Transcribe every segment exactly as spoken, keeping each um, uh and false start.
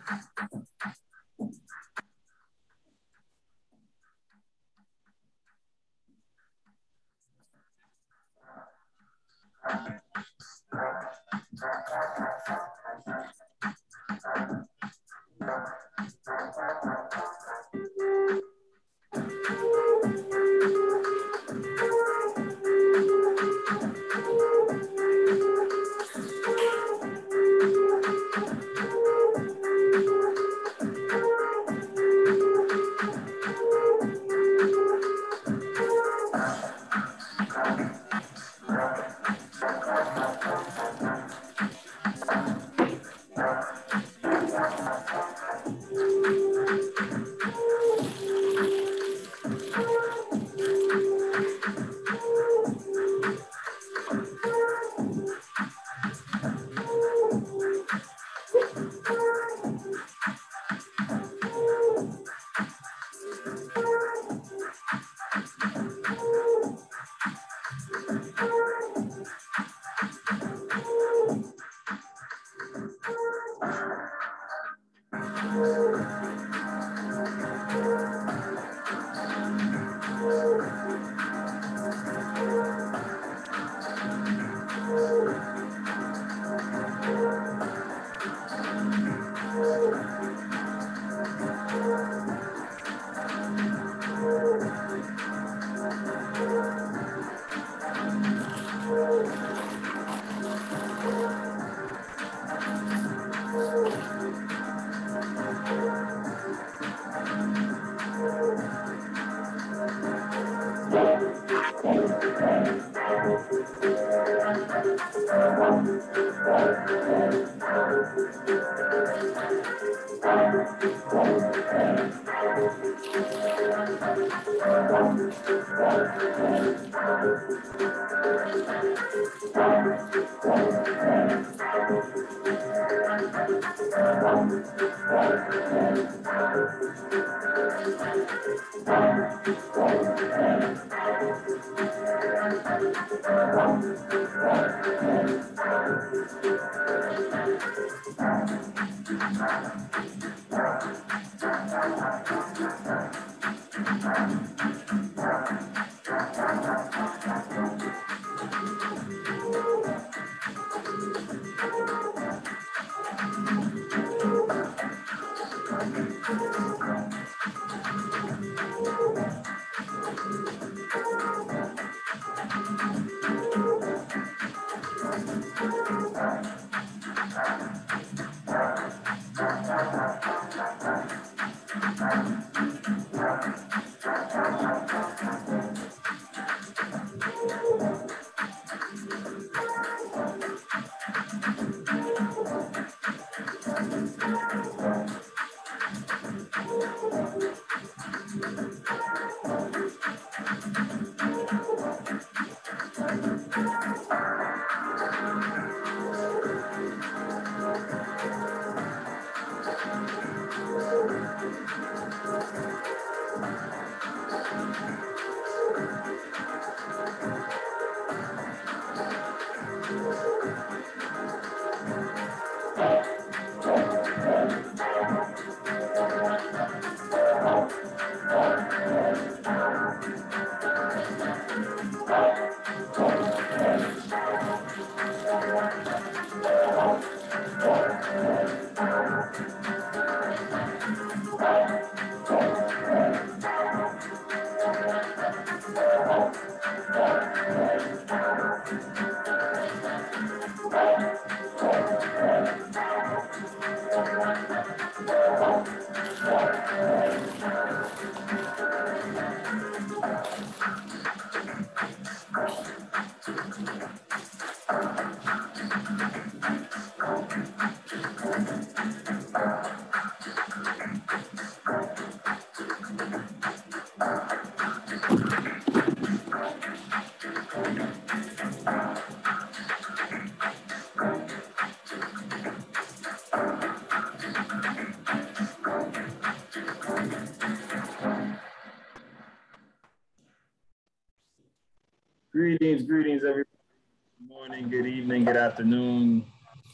Greetings, greetings, everyone. Good morning, good evening, good afternoon.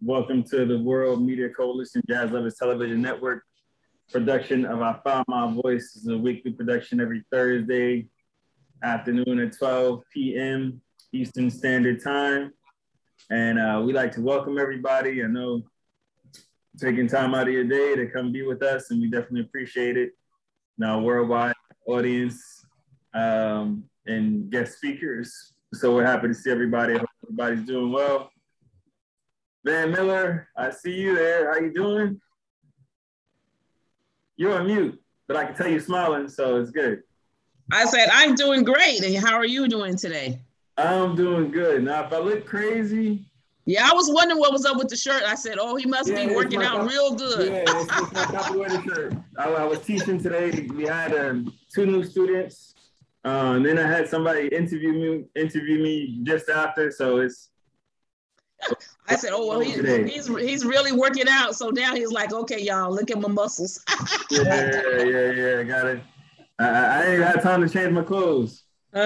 Welcome to the World Media Coalition Jazz Lovers Television Network production of I Found My Voice. This is a weekly production every Thursday afternoon at twelve p.m. Eastern Standard Time. And uh, we like to welcome everybody. I know taking time out of your day to come be with us, and we definitely appreciate it. Now, worldwide audience um, and guest speakers. So we're happy to see everybody. I hope everybody's doing well. Van Miller, I see you there. How you doing? You're on mute, but I can tell you smiling, so it's good. I said, I'm doing great. And how are you doing today? I'm doing good. Now, if I look crazy. Yeah, I was wondering what was up with the shirt. I said, oh, he must yeah, be working out real good. Yeah, it's, it's my copyrighted shirt. I, I was teaching today. We had um, two new students. Uh, and then I had somebody interview me, interview me just after, so it's. I said, oh, well, he, he's he's really working out. So now he's like, okay, y'all, look at my muscles. yeah, yeah, yeah, got it. I, I ain't got time to change my clothes.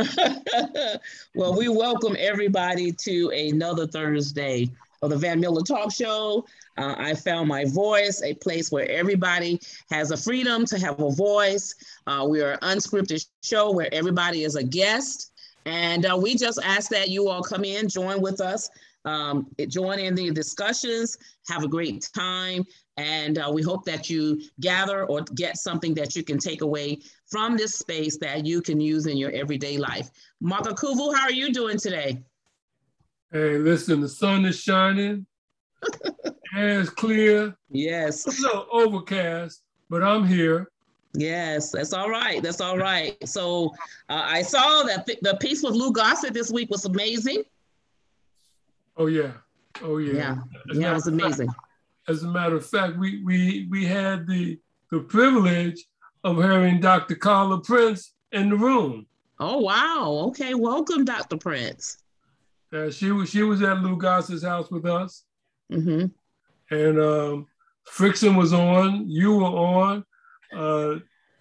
Well, we welcome everybody to another Thursday of the Van Miller Talk Show. Uh, I found my voice, a place where everybody has a freedom to have a voice. Uh, we are an unscripted show where everybody is a guest. And uh, we just ask that you all come in, join with us. Um, join in the discussions, have a great time, and uh, we hope that you gather or get something that you can take away from this space that you can use in your everyday life. Mark Akuvu, how are you doing today? Hey, listen, the sun is shining, air is clear. Yes. It's a little overcast, but I'm here. Yes, that's all right. That's all right. So uh, I saw that the piece with Lou Gossett this week was amazing. Oh yeah, oh yeah, yeah, yeah, it was amazing. Fact, as a matter of fact, we we we had the the privilege of having Doctor Carla Prince in the room. Oh wow! Okay, welcome, Doctor Prince. Uh, she was she was at Lou Gossett's house with us, mm-hmm. and um, Frickson was on. You were on. Uh,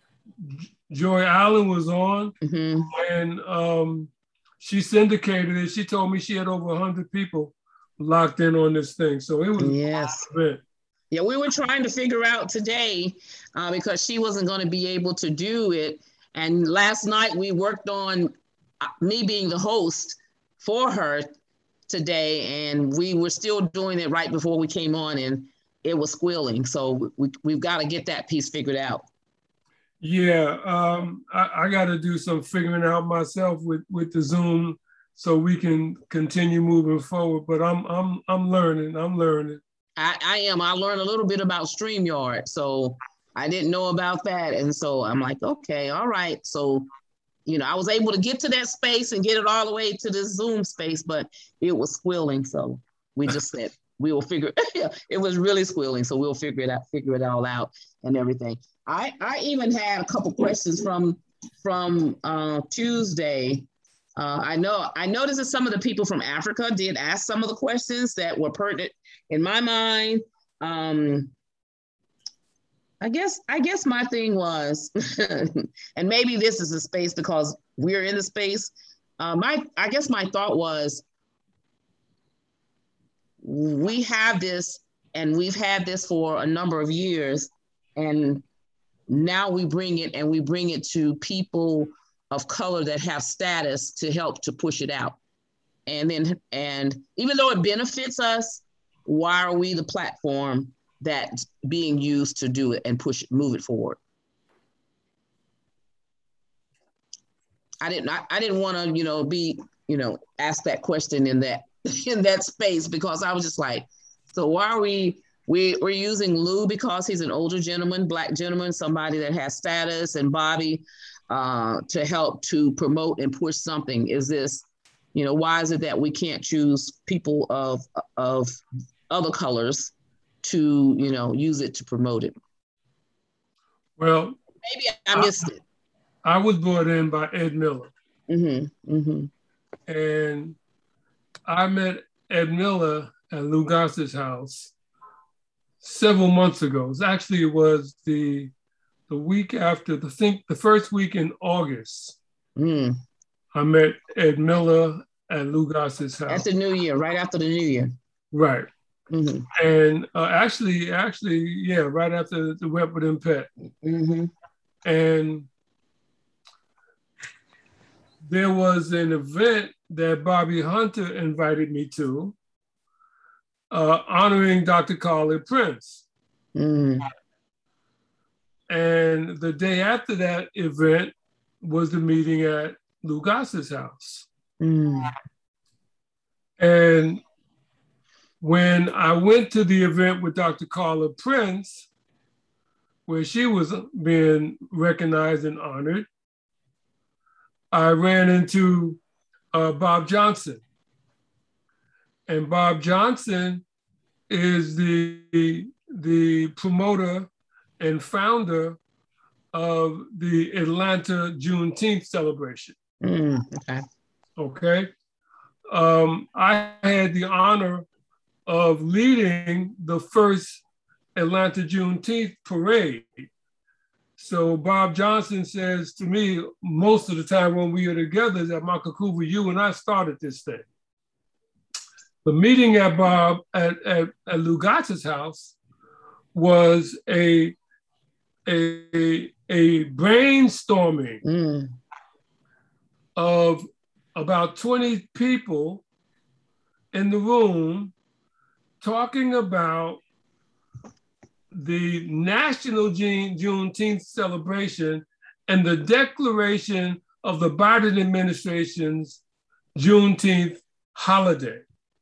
Joy Allen was on, mm-hmm. and. Um, She syndicated it. She told me she had over one hundred people locked in on this thing. So it was yes. Yeah, we were trying to figure out today uh, because she wasn't going to be able to do it. And last night we worked on uh, me being the host for her today. And we were still doing it right before we came on, and it was squealing. So we, we've got to get that piece figured out. Yeah, um, I, I got to do some figuring out myself with, with the Zoom so we can continue moving forward. But I'm I'm I'm learning. I'm learning. I, I am. I learned a little bit about StreamYard, so I didn't know about that, and so I'm like, okay, all right. So, you know, I was able to get to that space and get it all the way to this Zoom space, but it was squealing. So we just said we will figure. It was really squealing, so we'll figure it out, figure it all out, and everything. I, I even had a couple questions from from uh, Tuesday. Uh, I know I noticed that some of the people from Africa did ask some of the questions that were pertinent in my mind. Um, I guess I guess my thing was, and maybe this is a space because we're in the space. Uh, my I guess my thought was, we have this, and we've had this for a number of years, and now we bring it and we bring it to people of color that have status to help to push it out. And then, and even though it benefits us, why are we the platform that's being used to do it and push it, move it forward? I didn't, I, I didn't want to, you know, be, you know, ask that question in that, in that space, because I was just like, so why are we, We, we're using Lou because he's an older gentleman, Black gentleman, somebody that has status, and Bobby uh, to help to promote and push something. Is this, you know, why is it that we can't choose people of, of other colors to, you know, use it to promote it? Well, maybe I missed I, it. I was brought in by Ed Miller. Mm-hmm, mm-hmm. And I met Ed Miller at Lou Gossett's house several months ago. It actually it was the the week after the think the first week in August. Mm. I met Ed Miller at Lou Gossett's house. At the New Year, right after the New Year. Right. Mm-hmm. And uh, actually, actually, yeah, right after the Wet Within Pet. Mm-hmm. And there was an event that Bobby Hunter invited me to, uh, honoring Doctor Carla Prince. Mm-hmm. And the day after that event was the meeting at Lou Goss's house. Mm-hmm. And when I went to the event with Doctor Carla Prince, where she was being recognized and honored, I ran into uh, Bob Johnson. And Bob Johnson is the, the promoter and founder of the Atlanta Juneteenth celebration. Mm, okay. Okay. Um, I had the honor of leading the first Atlanta Juneteenth parade. So Bob Johnson says to me, most of the time when we are together, is that Michael Coover, you and I started this thing. The meeting at Bob at, at, at Lou Goss's house was a, a, a brainstorming mm. of about twenty people in the room talking about the National June, Juneteenth celebration and the declaration of the Biden administration's Juneteenth holiday.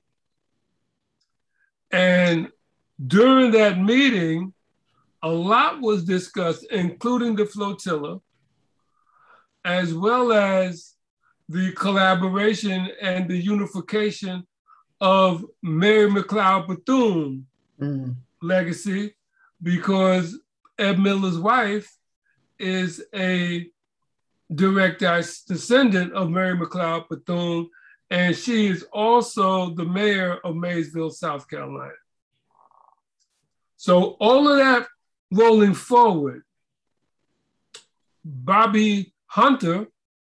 And during that meeting, a lot was discussed, including the flotilla, as well as the collaboration and the unification of Mary McLeod Bethune mm. legacy, because Ed Miller's wife is a direct descendant of Mary McLeod Bethune, and she is also the mayor of Maysville, South Carolina. So all of that rolling forward, Bobby Hunter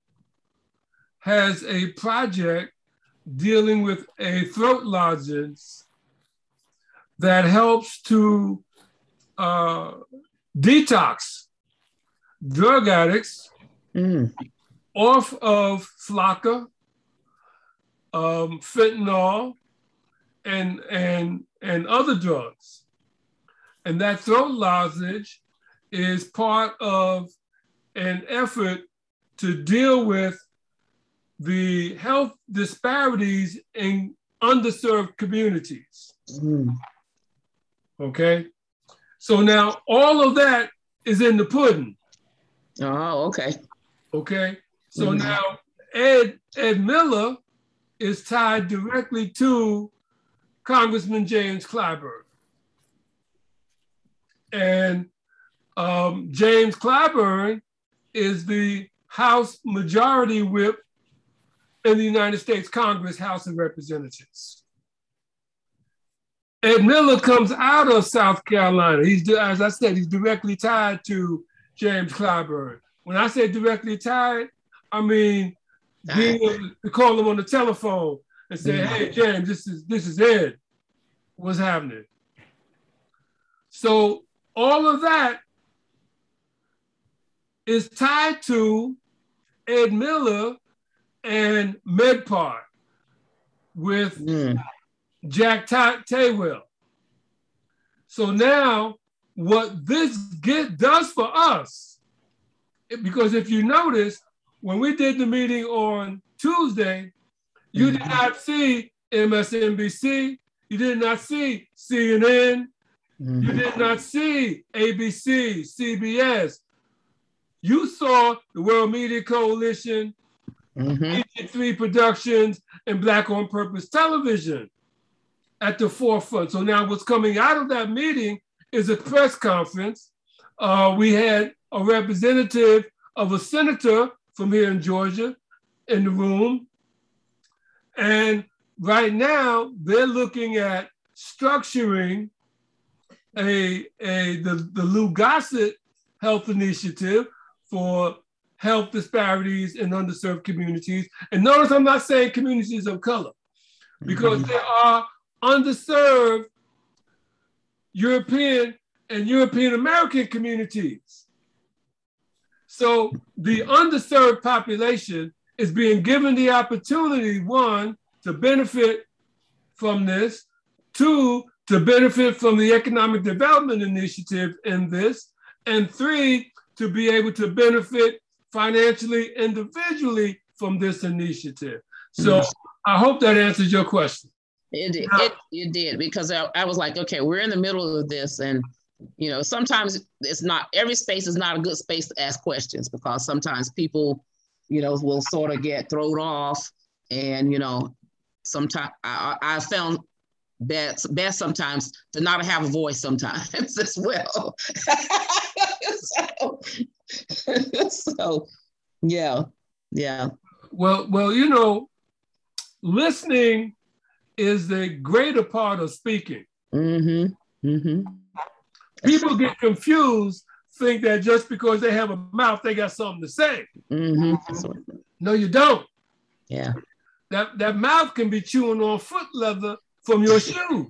has a project dealing with a throat lozenge that helps to uh, detox drug addicts mm. off of Flocka, um, fentanyl, and, and, and other drugs. And that throat lozenge is part of an effort to deal with the health disparities in underserved communities. Mm. Okay? So now all of that is in the pudding. Oh, okay. Okay? So Mm. now Ed, Ed Miller is tied directly to Congressman James Clyburn. And um, James Clyburn is the House Majority Whip in the United States Congress, House of Representatives. Ed Miller comes out of South Carolina. He's, as I said, he's directly tied to James Clyburn. When I say directly tied, I mean being able to call him on the telephone and say, mm-hmm. hey, James, this is, this is Ed. What's happening? So all of that is tied to Ed Miller and MedPart with mm. Jack Taywell. So now what this get does for us, because if you notice, when we did the meeting on Tuesday, you mm-hmm. did not see M S N B C, you did not see C N N, mm-hmm. you did not see A B C, C B S. You saw the World Media Coalition, mm-hmm. Egypt three Productions, and Black on Purpose Television at the forefront. So now what's coming out of that meeting is a press conference. Uh, we had a representative of a senator from here in Georgia in the room. And right now they're looking at structuring a, a the, the Lou Gossett Health Initiative for health disparities in underserved communities. And notice I'm not saying communities of color, because mm-hmm. there are underserved European and European American communities. So the underserved population is being given the opportunity, one, to benefit from this, two, to benefit from the economic development initiative in this, and three, to be able to benefit financially, individually from this initiative. So mm-hmm. I hope that answers your question. It did, it, it did, because I, I was like, okay, we're in the middle of this, and you know, sometimes it's not, every space is not a good space to ask questions, because sometimes people, you know, will sort of get thrown off, and you know, sometimes I, I found best, best sometimes to not have a voice sometimes as well. so, so, yeah, yeah. Well, well, you know, listening is the greater part of speaking. Mm-hmm. Mm-hmm. People get confused, think that just because they have a mouth, they got something to say. Mm-hmm. No, you don't. Yeah. That, that mouth can be chewing on foot leather from your shoe.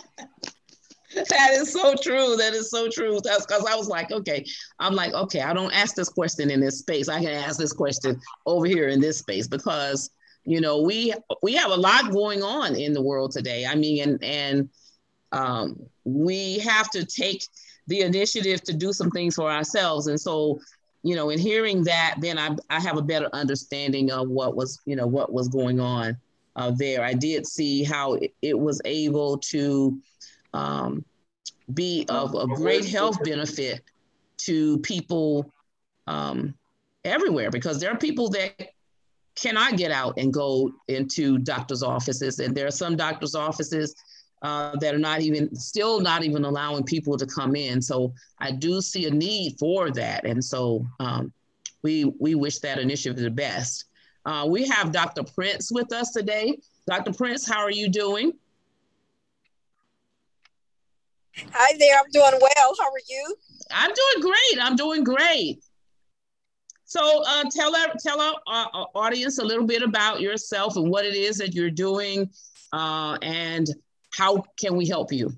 That is so true. That is so true. That's because I was like, okay, I'm like, okay, I don't ask this question in this space. I can ask this question over here in this space, because, you know, we we have a lot going on in the world today. I mean, and and um, we have to take the initiative to do some things for ourselves. And so, you know, in hearing that, then I I have a better understanding of what was, you know, what was going on uh, there. I did see how it, it was able to um, be of a great health benefit to people um, everywhere, because there are people that cannot get out and go into doctor's offices. And there are some doctor's offices uh, that are not even, still not even allowing people to come in. So I do see a need for that. And so um, we, we wish that initiative the best. Uh, we have Doctor Prince with us today. Doctor Prince, how are you doing? Hi there, I'm doing well. How are you? I'm doing great. I'm doing great. So uh, tell our, tell our, uh, audience a little bit about yourself and what it is that you're doing, uh, and how can we help you?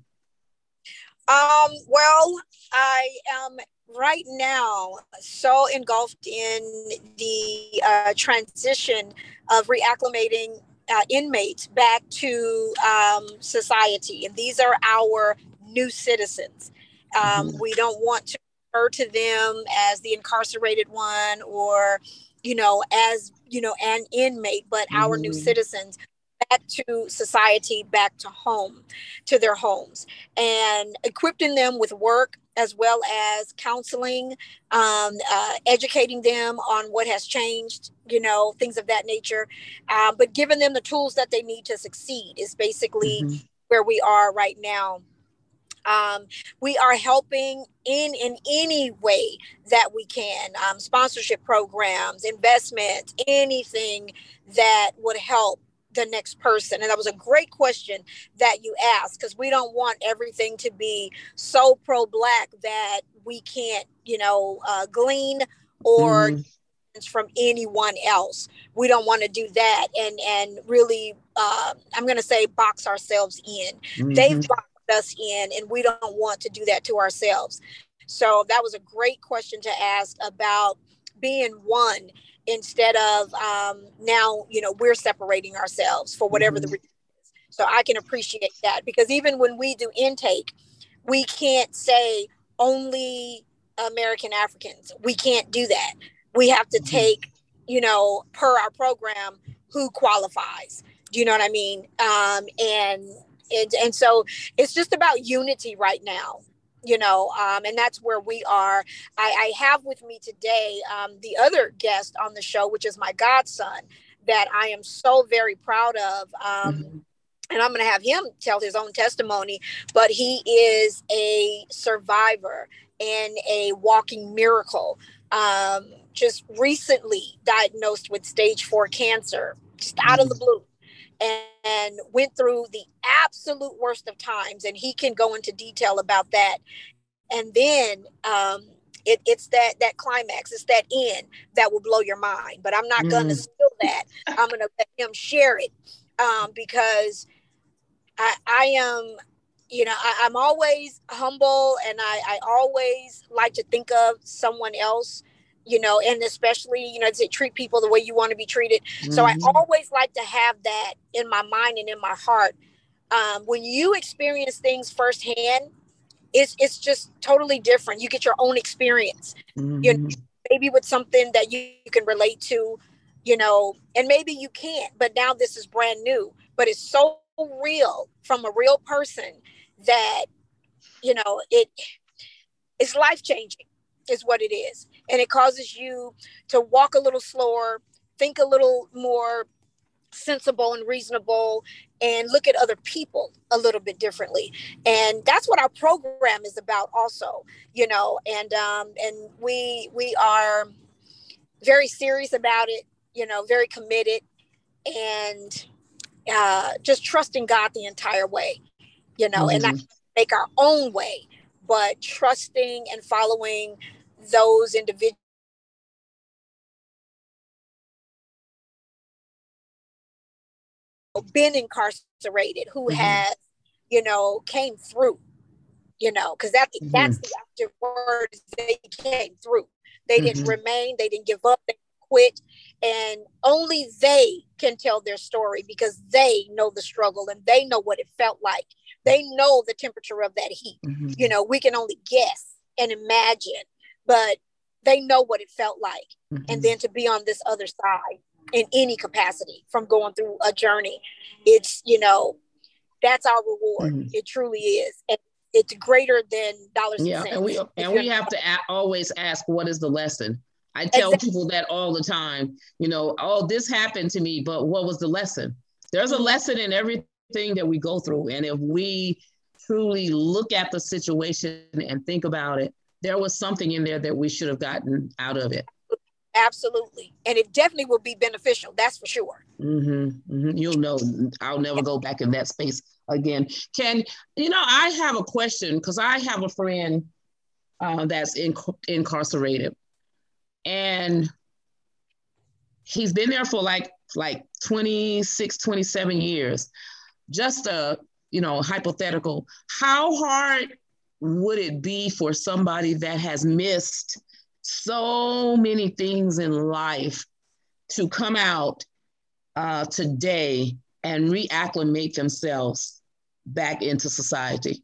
Um, well, I am right now so engulfed in the uh, transition of reacclimating uh, inmates back to um, society. And these are our new citizens. Um, mm-hmm. We don't want to refer to them as the incarcerated one, or, you know, as, you know, an inmate, but mm-hmm. our new citizens back to society, back to home, to their homes, and equipping them with work as well as counseling, um, uh, educating them on what has changed, you know, things of that nature, uh, but giving them the tools that they need to succeed is basically mm-hmm. where we are right now. Um, we are helping in, in any way that we can, um, sponsorship programs, investments, anything that would help the next person. And that was a great question that you asked, because we don't want everything to be so pro-Black that we can't, you know, uh, glean or mm. from anyone else. We don't want to do that and, and really, uh, I'm going to say box ourselves in. Mm-hmm. They've boxed us in, and we don't want to do that to ourselves. So that was a great question to ask about being one, instead of um, now, you know, we're separating ourselves for whatever mm-hmm. the reason is. So I can appreciate that, because even when we do intake, we can't say only American Africans. We can't do that. We have to take, you know, per our program, who qualifies. Do you know what I mean? Um, and, and, and so it's just about unity right now. You know, um, and that's where we are. I, I have with me today um, the other guest on the show, which is my godson, that I am so very proud of. Um, mm-hmm. And I'm going to have him tell his own testimony, but he is a survivor and a walking miracle. Um, just recently diagnosed with stage four cancer, just out mm-hmm. of the blue. And went through the absolute worst of times. And he can go into detail about that. And then um, it, it's that that climax, it's that end that will blow your mind. But I'm not mm. going to steal that. I'm going to let him share it um, because I, I am you know, I, I'm always humble, and I, I always like to think of someone else, you know, and especially, you know, to treat people the way you want to be treated. Mm-hmm. So I always like to have that in my mind and in my heart. Um, when you experience things firsthand, it's it's just totally different. You get your own experience, mm-hmm. you know, maybe with something that you, you can relate to, you know, and maybe you can't, but now this is brand new, but it's so real from a real person that, you know, it it's life-changing is what it is. And it causes you to walk a little slower, think a little more sensible and reasonable, and look at other people a little bit differently. And that's what our program is about also, you know, and um, and we we are very serious about it, you know, very committed, and uh, just trusting God the entire way, you know, mm-hmm. and not make our own way, but trusting and following those individuals been incarcerated, who mm-hmm. has, you know, came through, you know, because that, mm-hmm. that's the active word. They came through. They mm-hmm. didn't remain. They didn't give up. They quit. And only they can tell their story, because they know the struggle and they know what it felt like. They know the temperature of that heat. Mm-hmm. You know, we can only guess and imagine, but they know what it felt like. Mm-hmm. And then to be on this other side in any capacity from going through a journey, it's, you know, that's our reward. Mm-hmm. It truly is. And it's greater than dollars yeah, and cents. And we, and we have to a- always ask, what is the lesson? I tell exactly. people that all the time, you know, oh, this happened to me, but what was the lesson? There's a mm-hmm. lesson in everything that we go through. And if we truly look at the situation and think about it, there was something in there that we should have gotten out of it. Absolutely. And it definitely will be beneficial. That's for sure. Mm-hmm, mm-hmm. You'll know, I'll never go back in that space again. Can, you know, I have a question, because I have a friend uh, that's in, incarcerated, and he's been there for like, like twenty-six, twenty-seven years. Just a, you know, hypothetical. How hard would it be for somebody that has missed so many things in life to come out uh, today and reacclimate themselves back into society?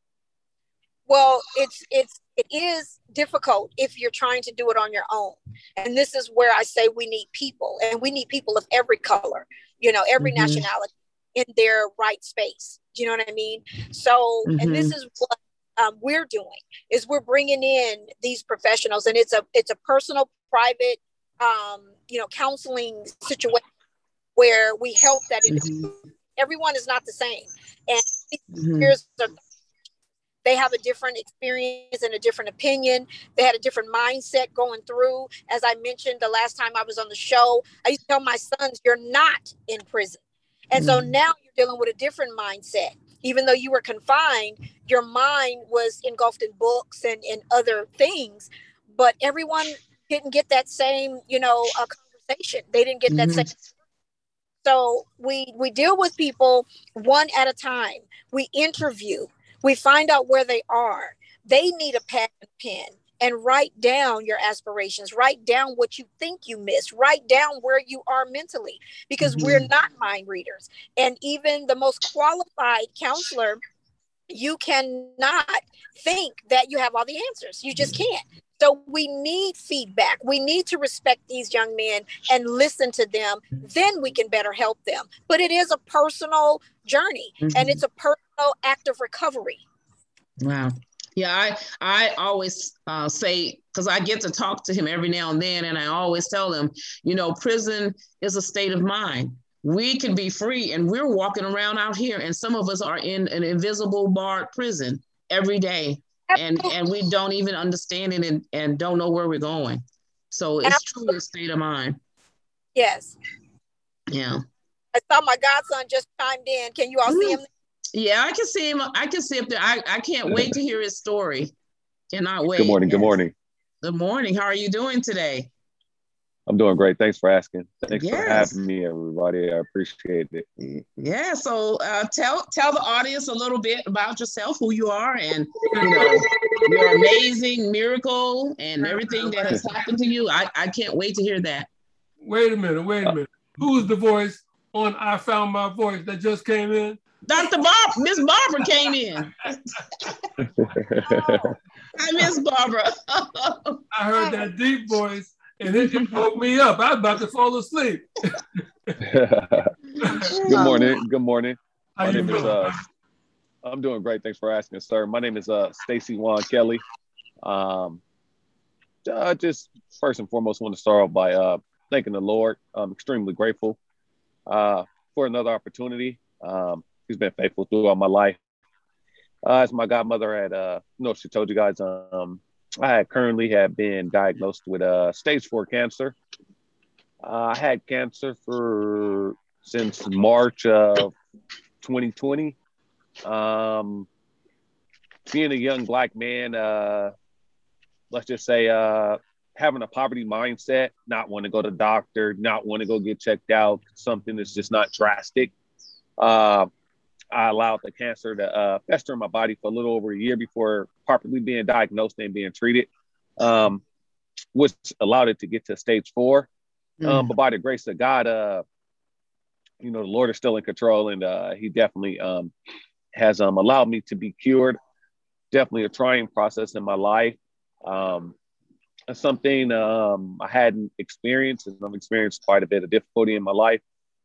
Well, it's it's it is difficult if you're trying to do it on your own. And this is where I say we need people, and we need people of every color, you know, every mm-hmm. nationality in their right space. Do you know what I mean? So, mm-hmm. and this is what um, we're doing, is we're bringing in these professionals, and it's a it's a personal, private, um, you know, counseling situation where we help that mm-hmm. everyone is not the same, and mm-hmm. here's the they have a different experience and a different opinion. They had a different mindset going through. As I mentioned the last time I was on the show, I used to tell my sons, you're not in prison. And mm. so now you're dealing with a different mindset. Even though you were confined, your mind was engulfed in books and, and other things. But everyone didn't get that same, you know, uh, conversation. They didn't get that mm-hmm. same. So we we deal with people one at a time. We interview. We find out where they are. They need a pad and pen, and write down your aspirations. Write down what you think you missed. Write down where you are mentally, because mm-hmm. we're not mind readers. And even the most qualified counselor, you cannot think that you have all the answers. You just can't. So we need feedback. We need to respect these young men and listen to them. Then we can better help them. But it is a personal journey, mm-hmm. and it's a personal act of recovery. Wow. Yeah, I I always uh, say, because I get to talk to him every now and then, and I always tell him, you know, prison is a state of mind. We can be free, and we're walking around out here, and some of us are in an invisible barred prison every day. And and we don't even understand it, and, and don't know where we're going. So it's Absolutely. Truly a state of mind. Yes. Yeah. I saw my godson just chimed in. Can you all mm-hmm. see him? Yeah, I can see him. I can see him there. I, I can't wait to hear his story. Cannot wait. Good morning. Good morning. Good morning. How are you doing today? I'm doing great. Thanks for asking. Thanks Yes. for having me, everybody. I appreciate it. Yeah. So uh, tell tell the audience a little bit about yourself, who you are, and you know your amazing miracle and everything that has happened to you. I, I can't wait to hear that. Wait a minute. Wait a minute. Who's the voice on I Found My Voice that just came in? Doctor Bob, Miss Barbara came in. Oh, hi, Miss Barbara. I heard that deep voice and it, it woke me up. I was about to fall asleep. Good morning. Good morning. How My you name is, doing? uh, I'm doing great. Thanks for asking, sir. My name is uh, Stacy Juan Kelly. Um, uh, just first and foremost, want to start off by uh, thanking the Lord. I'm extremely grateful uh, for another opportunity. Um, he's been faithful throughout my life. Uh, as my godmother had, uh, you know, she told you guys, um, I had currently had been diagnosed with uh, stage four cancer. Uh, I had cancer for since March of twenty twenty. Um, being a young Black man, uh, let's just say uh, having a poverty mindset, not want to go to the doctor, not want to go get checked out, something that's just not drastic. Uh, I allowed the cancer to uh, fester in my body for a little over a year before properly being diagnosed and being treated, um, which allowed it to get to stage four. Mm. Um, but by the grace of God, uh, you know, the Lord is still in control, and uh, he definitely um, has um, allowed me to be cured. Definitely a trying process in my life. Um, something um, I hadn't experienced, and I've experienced quite a bit of difficulty in my life.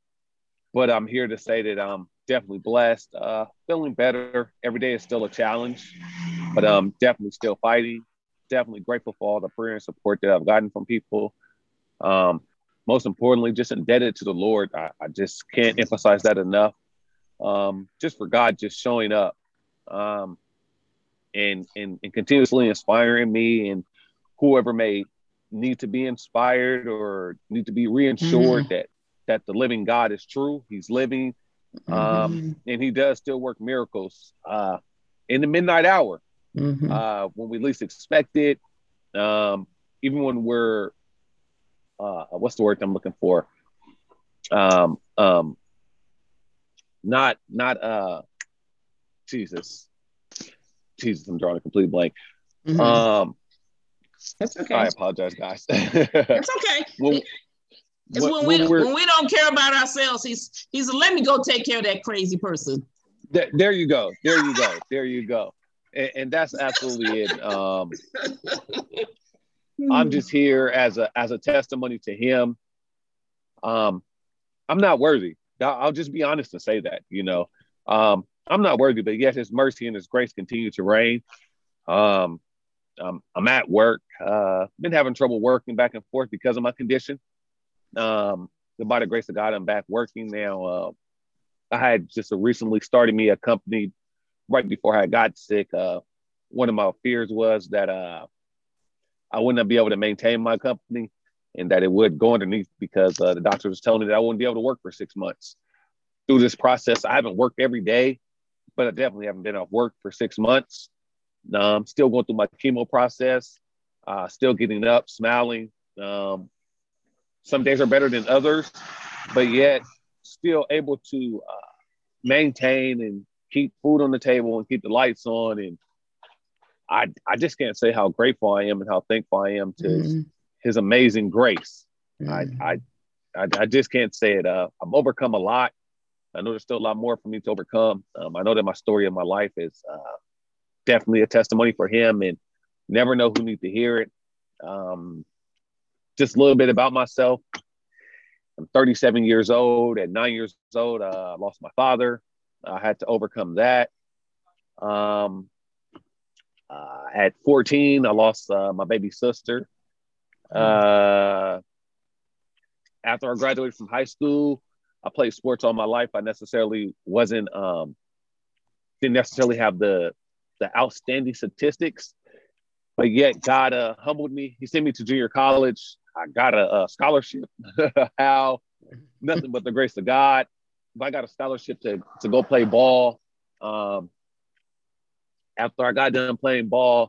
But I'm here to say that I'm definitely blessed, uh, feeling better. Every day is still a challenge, but I'm definitely still fighting. Definitely grateful for all the prayer and support that I've gotten from people. Um, most importantly, just indebted to the Lord. I, I just can't emphasize that enough. Um, just for God just showing up um, and, and, and continuously inspiring me, and whoever may need to be inspired or need to be reassured mm-hmm. that that the living God is true. He's living, um, mm-hmm. and he does still work miracles uh, in the midnight hour, mm-hmm. uh, when we least expect it. Um, even when we're, uh, what's the word I'm looking for? Um, um, not, not, uh, Jesus, Jesus, I'm drawing a complete blank. Mm-hmm. Um, That's okay. I apologize, guys. That's okay. well, It's when, when we when we don't care about ourselves. He's he's let me go take care of that crazy person. There, there you go. There you go. There you go. And, and that's absolutely it. Um, I'm just here as a as a testimony to him. Um, I'm not worthy. I'll just be honest and say that. You know, um, I'm not worthy, but yet his mercy and his grace continue to reign. Um, um, I'm at work. Uh, been having trouble working back and forth because of my condition. Um, by the grace of God, I'm back working now. Uh, I had just recently started me a company right before I got sick. Uh, one of my fears was that uh, I wouldn't be able to maintain my company, and that it would go underneath because uh, the doctor was telling me that I wouldn't be able to work for six months. Through this process, I haven't worked every day, but I definitely haven't been off work for six months. I'm still going through my chemo process, uh, still getting up, smiling. Um, Some days are better than others, but yet still able to uh, maintain and keep food on the table and keep the lights on. And I, I just can't say how grateful I am and how thankful I am to mm. his, his amazing grace. Mm. I, I, I, I just can't say it. Uh, I've overcome a lot. I know there's still a lot more for me to overcome. Um, I know that my story of my life is uh, definitely a testimony for him, and never know who needs to hear it. Um, Just a little bit about myself. I'm thirty-seven years old. At nine years old, uh, I lost my father. I had to overcome that. Um, uh, at fourteen, I lost uh, my baby sister. Uh, after I graduated from high school, I played sports all my life. I necessarily wasn't, um, didn't necessarily have the the outstanding statistics, but yet God uh, humbled me. He sent me to junior college. I got a, a scholarship. How? Nothing but the grace of God. But I got a scholarship to, to go play ball. Um, after I got done playing ball,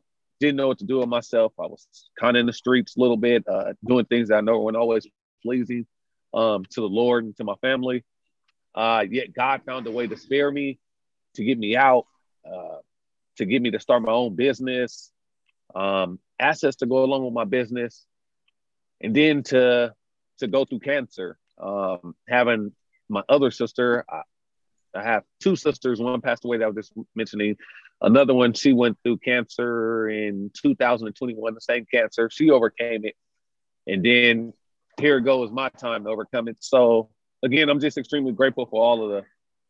didn't know what to do with myself. I was kind of in the streets a little bit, uh, doing things that I know weren't always pleasing um, to the Lord and to my family. Uh, yet God found a way to spare me, to get me out, uh, to get me to start my own business, um, assets to go along with my business, and then to to go through cancer. Um, having my other sister, I, I have two sisters. One passed away that I was just mentioning. Another one, she went through cancer in two thousand twenty-one, the same cancer. She overcame it. And then here it goes, my time to overcome it. So again, I'm just extremely grateful for all of the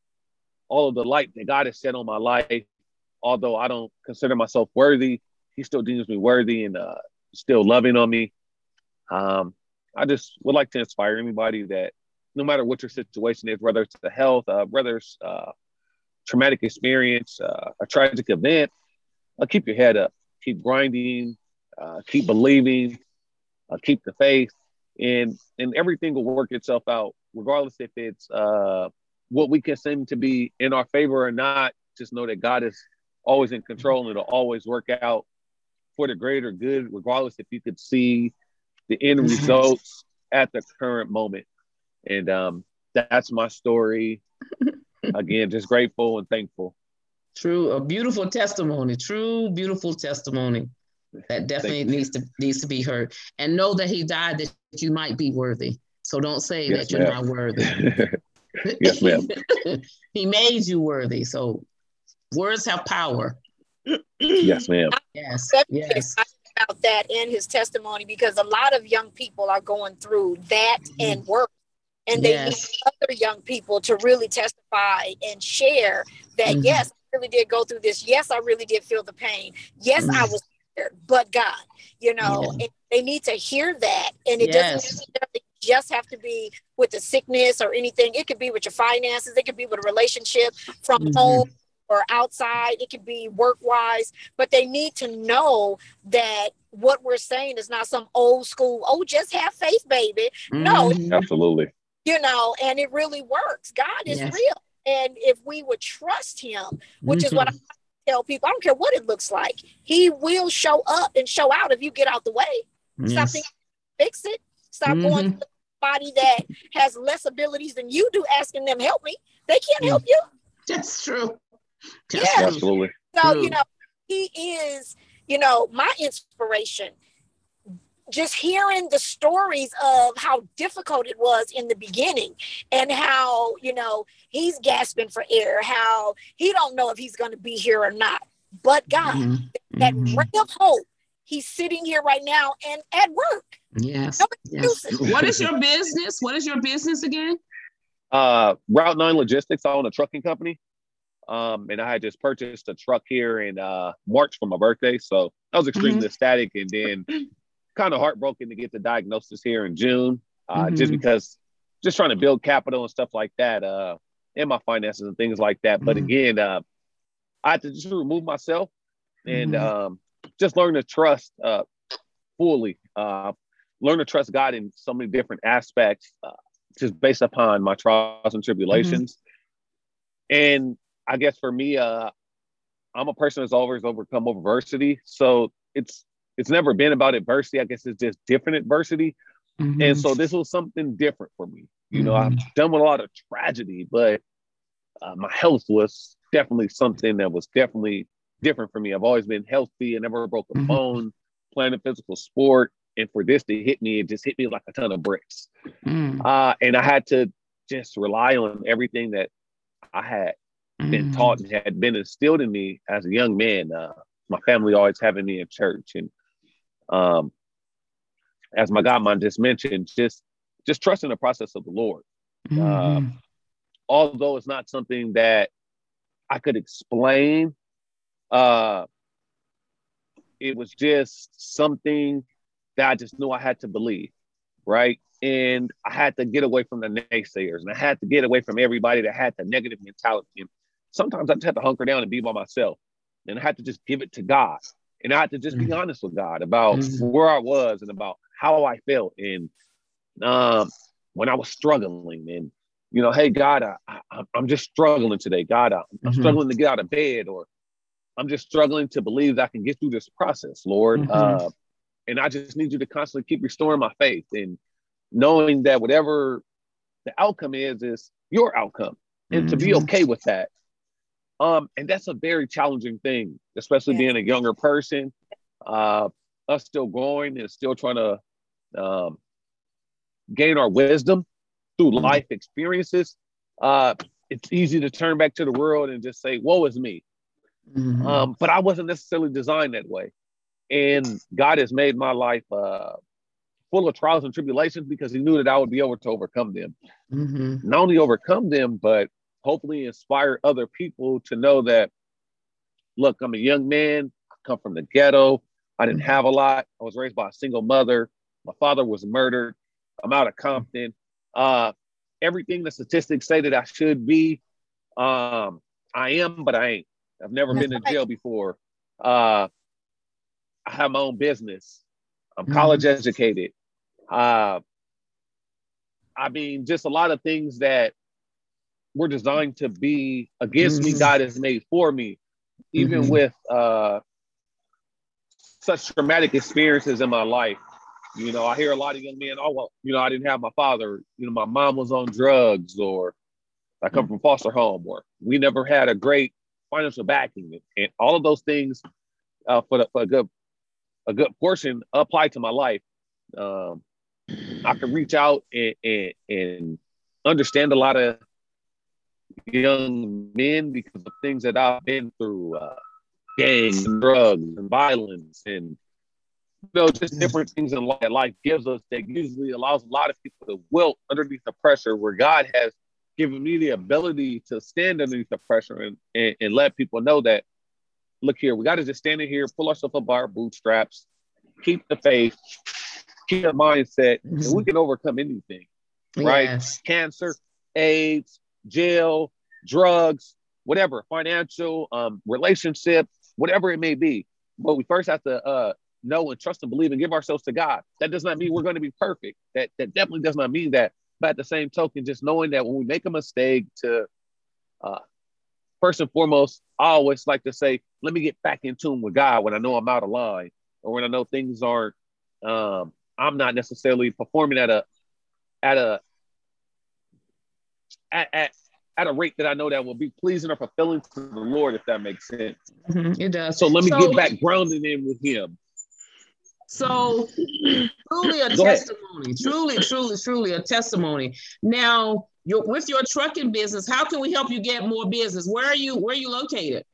all of the light that God has shed on my life. Although I don't consider myself worthy, he still deems me worthy and uh, still loving on me. Um, I just would like to inspire anybody that no matter what your situation is, whether it's the health, uh, whether it's uh, traumatic experience, uh, a tragic event, uh, keep your head up, keep grinding, uh, keep believing, uh, keep the faith, and and everything will work itself out, regardless if it's uh, what we consider to be in our favor or not. Just know that God is always in control, and it'll always work out for the greater good, regardless if you could see the end results at the current moment. And um, that's my story. Again, just grateful and thankful. True, a beautiful testimony. True, beautiful testimony. That definitely needs to needs to be heard. And know that he died that you might be worthy. So don't say Yes, that you're ma'am. not worthy. Yes, ma'am. He made you worthy. So words have power. Yes, ma'am. Yes. Definitely Yes. excited about that in his testimony, because a lot of young people are going through that and work. And they Yes. need other young people to really testify and share that, Mhm. yes, I really did go through this. Yes, I really did feel the pain. Yes, I Mhm. was scared, but God, you know, Yeah. and they need to hear that. And it Yes. doesn't necessarily just have to be with the sickness or anything. It could be with your finances. It could be with a relationship from Mhm. home or outside. It could be work-wise. But they need to know that what we're saying is not some old school, oh, just have faith, baby. No, Mhm. Absolutely. you know, and it really works. God is Yes. real. And if we would trust him, which is what I Mhm. tell people, I don't care what it looks like, he will show up and show out if you get out the way. Stop Yes. thinking, fix it. Stop going Mhm. to somebody that has less abilities than you do, asking them, help me. They can't help you. That's true. That's Yeah. true. Absolutely. So, True. you know, he is, you know, my inspiration. Just hearing the stories of how difficult it was in the beginning and how, you know, he's gasping for air, how he don't know if he's going to be here or not. But God, Mhm. that Mhm. ray of hope, he's sitting here right now and at work. Yes. No Yes. excuses. What is your business? What is your business again? Uh, Route nine Logistics. I own a trucking company. Um, and I had just purchased a truck here in uh, March for my birthday. So I was extremely ecstatic, and then kind of heartbroken to get the diagnosis here in June, uh, Mhm. just because just trying to build capital and stuff like that, uh, and my finances and things like that. But Mhm. again, uh, I had to just remove myself and Mhm. um, just learn to trust uh, fully, uh, learn to trust God in so many different aspects, uh, just based upon my trials and tribulations. And I guess for me, uh, I'm a person that's always overcome adversity. So it's it's never been about adversity. I guess it's just different adversity. Mhm. And so this was something different for me. You know, Mhm. I've done with a lot of tragedy, but uh, my health was definitely something that was definitely different for me. I've always been healthy and never broke a Mhm. bone, playing a physical sport. And for this to hit me, it just hit me like a ton of bricks. Mhm. Uh, and I had to just rely on everything that I had been taught and had been instilled in me as a young man. Uh, my family always having me in church, and um, as my godmom just mentioned, just just trusting the process of the Lord. Uh, Mhm. although it's not something that I could explain, uh, it was just something that I just knew I had to believe, right? And I had to get away from the naysayers, and I had to get away from everybody that had the negative mentality. And sometimes I just had to hunker down and be by myself, and I had to just give it to God. And I had to just be honest with God about Mhm. where I was and about how I felt. And um, when I was struggling, and, you know, hey, God, I, I, I'm just struggling today. God, I, I'm Mhm. struggling to get out of bed, or I'm just struggling to believe that I can get through this process, Lord. Mm-hmm. Uh, and I just need you to constantly keep restoring my faith and knowing that whatever the outcome is, is your outcome, and mm-hmm. to be okay with that. Um, and that's a very challenging thing, especially yeah. being a younger person, uh, us still growing and still trying to um, gain our wisdom through mm-hmm. life experiences. Uh, it's easy to turn back to the world and just say, woe is me. Mm-hmm. Um, but I wasn't necessarily designed that way. And God has made my life uh, full of trials and tribulations because he knew that I would be able to overcome them. Mm-hmm. Not only overcome them, but hopefully inspire other people to know that, look, I'm a young man, I come from the ghetto. I didn't have a lot. I was raised by a single mother. My father was murdered. I'm out of Compton. Uh, everything the statistics say that I should be, um, I am, but I ain't. I've never That's been right. to jail before. Uh, I have my own business. I'm mm-hmm. college educated. Uh, I mean, just a lot of things that were designed to be against mm-hmm. me, God has made for me, even mm-hmm. with uh, such traumatic experiences in my life. You know, I hear a lot of young men, oh, well, you know, I didn't have my father. You know, my mom was on drugs, or I come from foster home, or we never had a great financial backing. And all of those things uh, for, the, for a good a good portion apply to my life. Um, I can reach out and, and, and understand a lot of young men because of things that I've been through, uh, gangs and drugs and violence and, you know, just different things in life that life gives us that usually allows a lot of people to wilt underneath the pressure, where God has given me the ability to stand underneath the pressure and, and, and let people know that, look here, we got to just stand in here, pull ourselves up by our bootstraps, keep the faith, keep the mindset, mm-hmm. and we can overcome anything, right? Yes. Cancer, AIDS, jail, drugs, whatever, financial, um, relationship, whatever it may be. But we first have to uh, know and trust and believe and give ourselves to God. That does not mean we're going to be perfect. That that definitely does not mean that. But at the same token, just knowing that when we make a mistake, to uh, first and foremost, I always like to say, let me get back in tune with God when I know I'm out of line, or when I know things aren't, um, I'm not necessarily performing at a, at a, at, at, at a rate that I know that will be pleasing or fulfilling to the Lord, if that makes sense. Mm-hmm, it does. So let me so, get back grounded in with him. So truly a Go testimony, ahead. truly, truly, truly a testimony. Now, you're, with your trucking business, how can we help you get more business? Where are you, where are you located?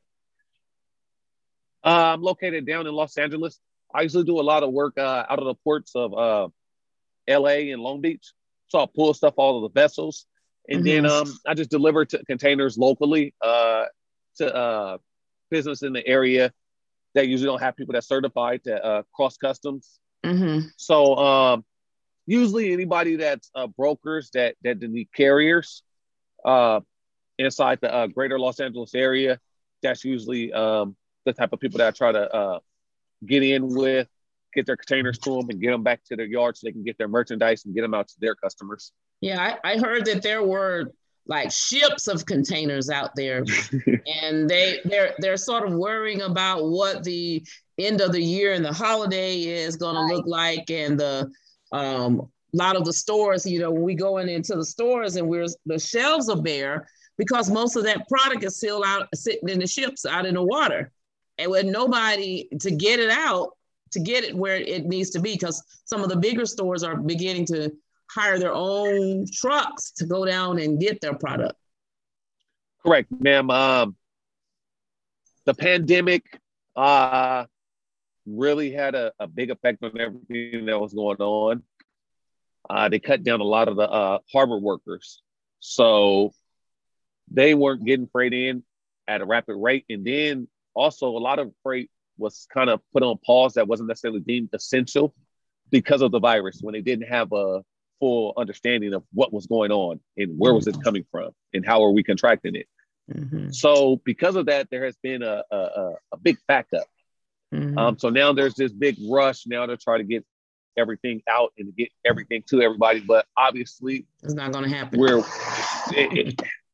Uh, I'm located down in Los Angeles. I usually do a lot of work uh, out of the ports of uh, L A and Long Beach. So I'll pull stuff out of the vessels. And mm-hmm. then um, I just deliver to containers locally uh, to uh, business in the area that usually don't have people that certified to uh, cross customs. Mm-hmm. So um, usually anybody that's uh, brokers that, that need carriers uh, inside the uh, greater Los Angeles area, that's usually um, the type of people that I try to uh, get in with, get their containers to them and get them back to their yard so they can get their merchandise and get them out to their customers. Yeah, I, I heard that there were like ships of containers out there, and they they're they're sort of worrying about what the end of the year and the holiday is going to look like, and the um a lot of the stores, you know, when we go in into the stores and we're the shelves are bare because most of that product is still out sitting in the ships out in the water, and with nobody to get it out, to get it where it needs to be, because some of the bigger stores are beginning to hire their own trucks to go down and get their product. Correct, ma'am. Um, the pandemic uh, really had a, a big effect on everything that was going on. Uh, they cut down a lot of the uh, harbor workers. So they weren't getting freight in at a rapid rate. And then also a lot of freight was kind of put on pause that wasn't necessarily deemed essential because of the virus, when they didn't have a full understanding of what was going on and where was it coming from and how are we contracting it. Mm-hmm. So because of that, there has been a, a, a big backup. Mm-hmm. Um, so now there's this big rush now to try to get everything out and to get everything to everybody. But obviously it's not going to happen. We're, it, it,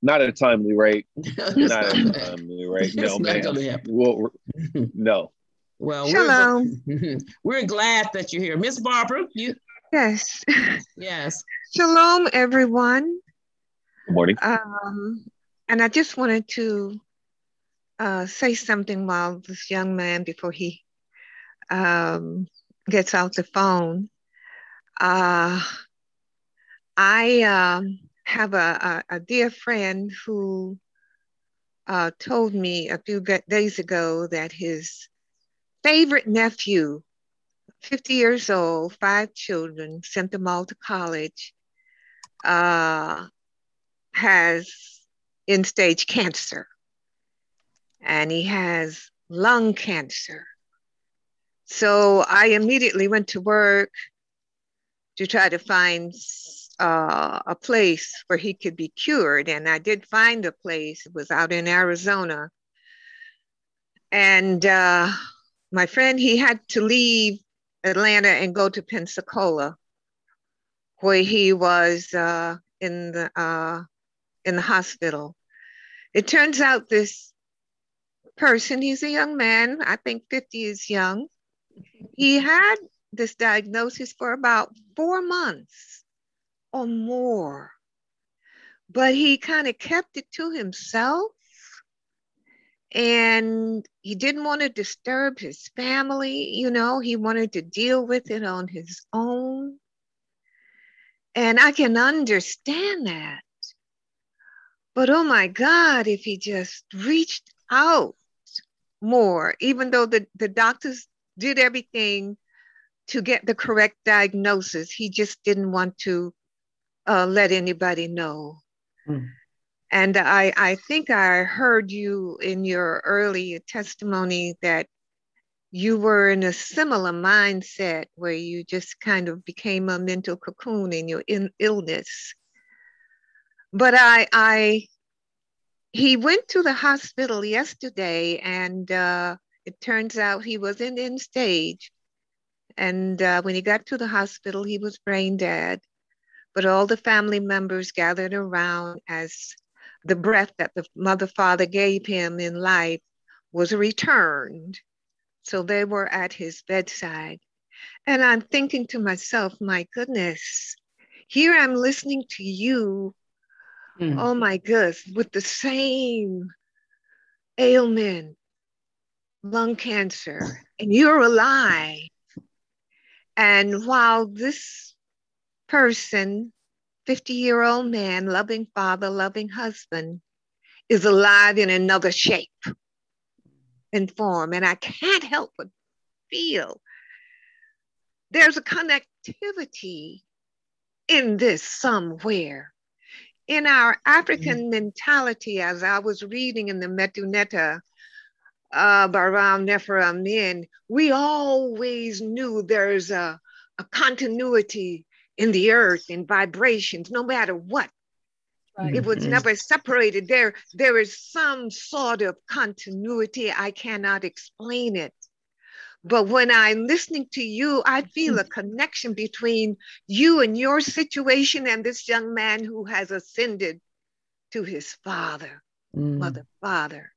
not at a timely rate. It's Not not at a gonna- timely rate. it's No, not ma'am. gonna happen. Well, no. Well, Shalom. we're gl- we're glad that you're here, Miss Barbara. You Yes. yes. Shalom, everyone. Good morning. Um, and I just wanted to uh, say something while this young man, before he um, gets off the phone. Uh, I um, have a, a, a dear friend who uh, told me a few ga- days ago that his favorite nephew, fifty years old, five children, sent them all to college, uh, has end-stage cancer. And he has lung cancer. So I immediately went to work to try to find uh, a place where he could be cured. And I did find a place. It was out in Arizona. And uh, my friend, he had to leave Atlanta and go to Pensacola, where he was uh, in the uh, in the hospital. It turns out this person, he's a young man, I think fifty is young. He had this diagnosis for about four months or more, but he kind of kept it to himself, and he didn't want to disturb his family. You know, he wanted to deal with it on his own. And I can understand that. But oh my God, if he just reached out more, even though the, the doctors did everything to get the correct diagnosis, he just didn't want to uh, let anybody know. Mm. And I, I think I heard you in your early testimony that you were in a similar mindset where you just kind of became a mental cocoon in your in illness. But I, I, he went to the hospital yesterday, and uh, it turns out he was in end stage. And uh, when he got to the hospital, he was brain dead. But all the family members gathered around as the breath that the mother father gave him in life was returned. So they were at his bedside. And I'm thinking to myself, my goodness, here I'm listening to you. Mm. Oh my goodness, with the same ailment, lung cancer, and you're alive. And while this person, fifty-year-old man, loving father, loving husband, is alive in another shape and form, and I can't help but feel there's a connectivity in this somewhere. In our African mm-hmm. mentality, as I was reading in the Metuneta uh, Baram Nefer Amin, we always knew there's a, a continuity in the earth, in vibrations, no matter what. Right. It was mm-hmm. never separated. There, there is some sort of continuity. I cannot explain it. But when I'm listening to you, I feel a connection between you and your situation and this young man who has ascended to his father, mm. mother, father.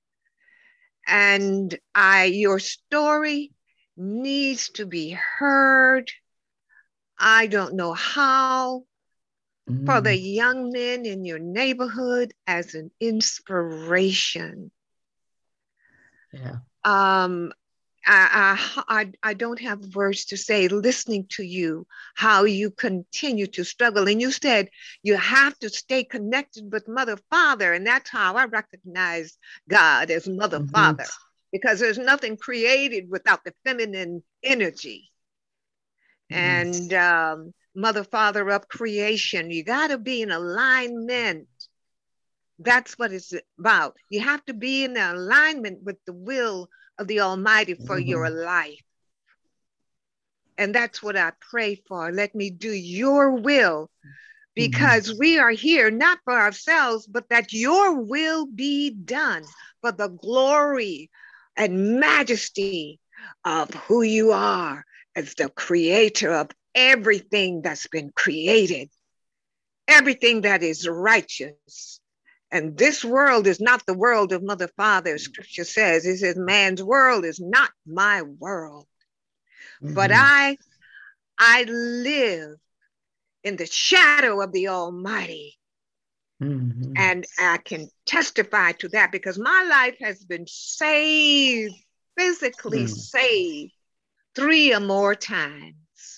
And I, your story needs to be heard. I don't know how. Mm. For the young men in your neighborhood as an inspiration. Yeah. Um, I, I, I don't have words to say, listening to you, how you continue to struggle. And you said you have to stay connected with Mother, Father. And that's how I recognize God as Mother, mm-hmm. Father, because there's nothing created without the feminine energy. Mm-hmm. And um, Mother, Father of creation, you got to be in alignment. That's what it's about. You have to be in alignment with the will of the Almighty for mm-hmm. your life. And that's what I pray for. Let me do your will, because mm-hmm. we are here not for ourselves, but that your will be done for the glory and majesty of who you are as the creator of everything that's been created, everything that is righteous And this world is not the world of mother, father. Scripture says, it says, man's world is not my world. Mm-hmm. But I, I live in the shadow of the Almighty. Mm-hmm. And I can testify to that because my life has been saved, physically mm. saved three or more times.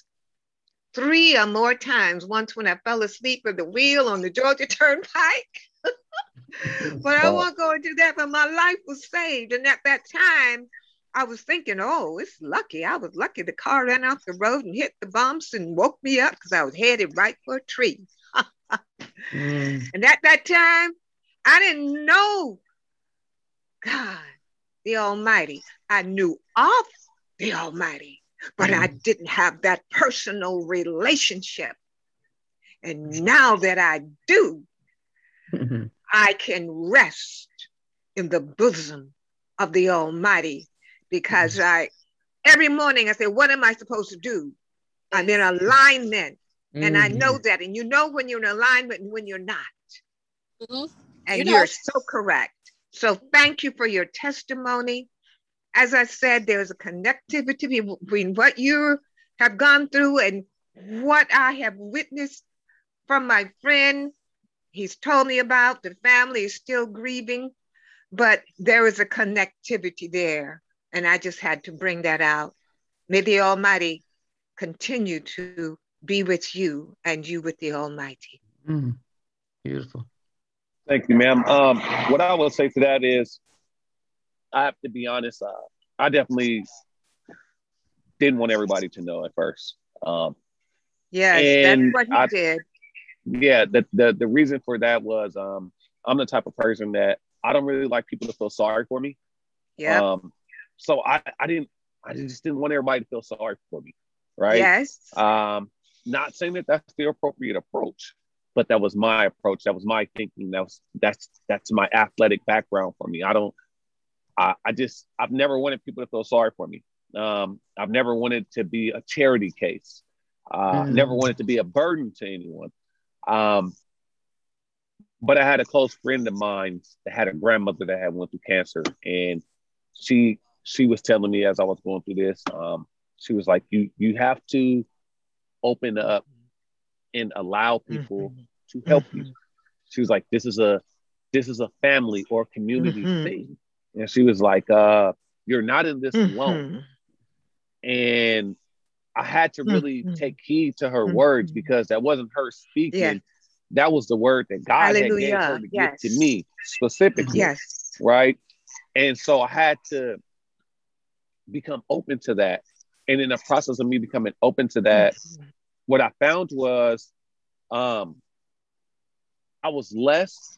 Three or more times. Once when I fell asleep at the wheel on the Georgia Turnpike. But I won't go into that, but my life was saved. And at that time, I was thinking, oh, it's lucky. I was lucky the car ran off the road and hit the bumps and woke me up because I was headed right for a tree. mm. And at that time, I didn't know God, the Almighty. I knew of the Almighty, but mm. I didn't have that personal relationship. And now that I do, mm-hmm. I can rest in the bosom of the Almighty because mm. I, every morning I say, what am I supposed to do? I'm in alignment. Mm-hmm. And I know that. And you know when you're in alignment and when you're not. Mm-hmm. And you know. You're so correct. So thank you for your testimony. As I said, there's a connectivity between what you have gone through and what I have witnessed from my friend. He's told me about the family is still grieving, but there is a connectivity there. And I just had to bring that out. May the Almighty continue to be with you and you with the Almighty. Mm, beautiful. Thank you, ma'am. Um, what I will say to that is, I have to be honest, uh, I definitely didn't want everybody to know at first. Um, yes, that's what he I, did. Yeah, the, the the reason for that was um, I'm the type of person that I don't really like people to feel sorry for me. Yeah. Um, so I, I didn't I just didn't want everybody to feel sorry for me, right? Yes. Um, not saying that that's the appropriate approach, but that was my approach. That was my thinking. That was that's that's my athletic background for me. I don't. I, I just I've never wanted people to feel sorry for me. Um, I've never wanted to be a charity case. Uh, mm. Never wanted to be a burden to anyone. Um, but I had a close friend of mine that had a grandmother that had went through cancer, and she she was telling me as I was going through this, um, she was like, "You you have to open up and allow people mm-hmm. to help mm-hmm. you." She was like, "This is a this is a family or community mm-hmm. thing," and she was like, "Uh, you're not in this mm-hmm. alone." And I had to really mm-hmm. take heed to her mm-hmm. words because that wasn't her speaking. Yeah. That was the word that God Hallelujah. Had gave her to yes. give to me specifically. Yes. Right. And so I had to become open to that. And in the process of me becoming open to that, mm-hmm. what I found was um, I was less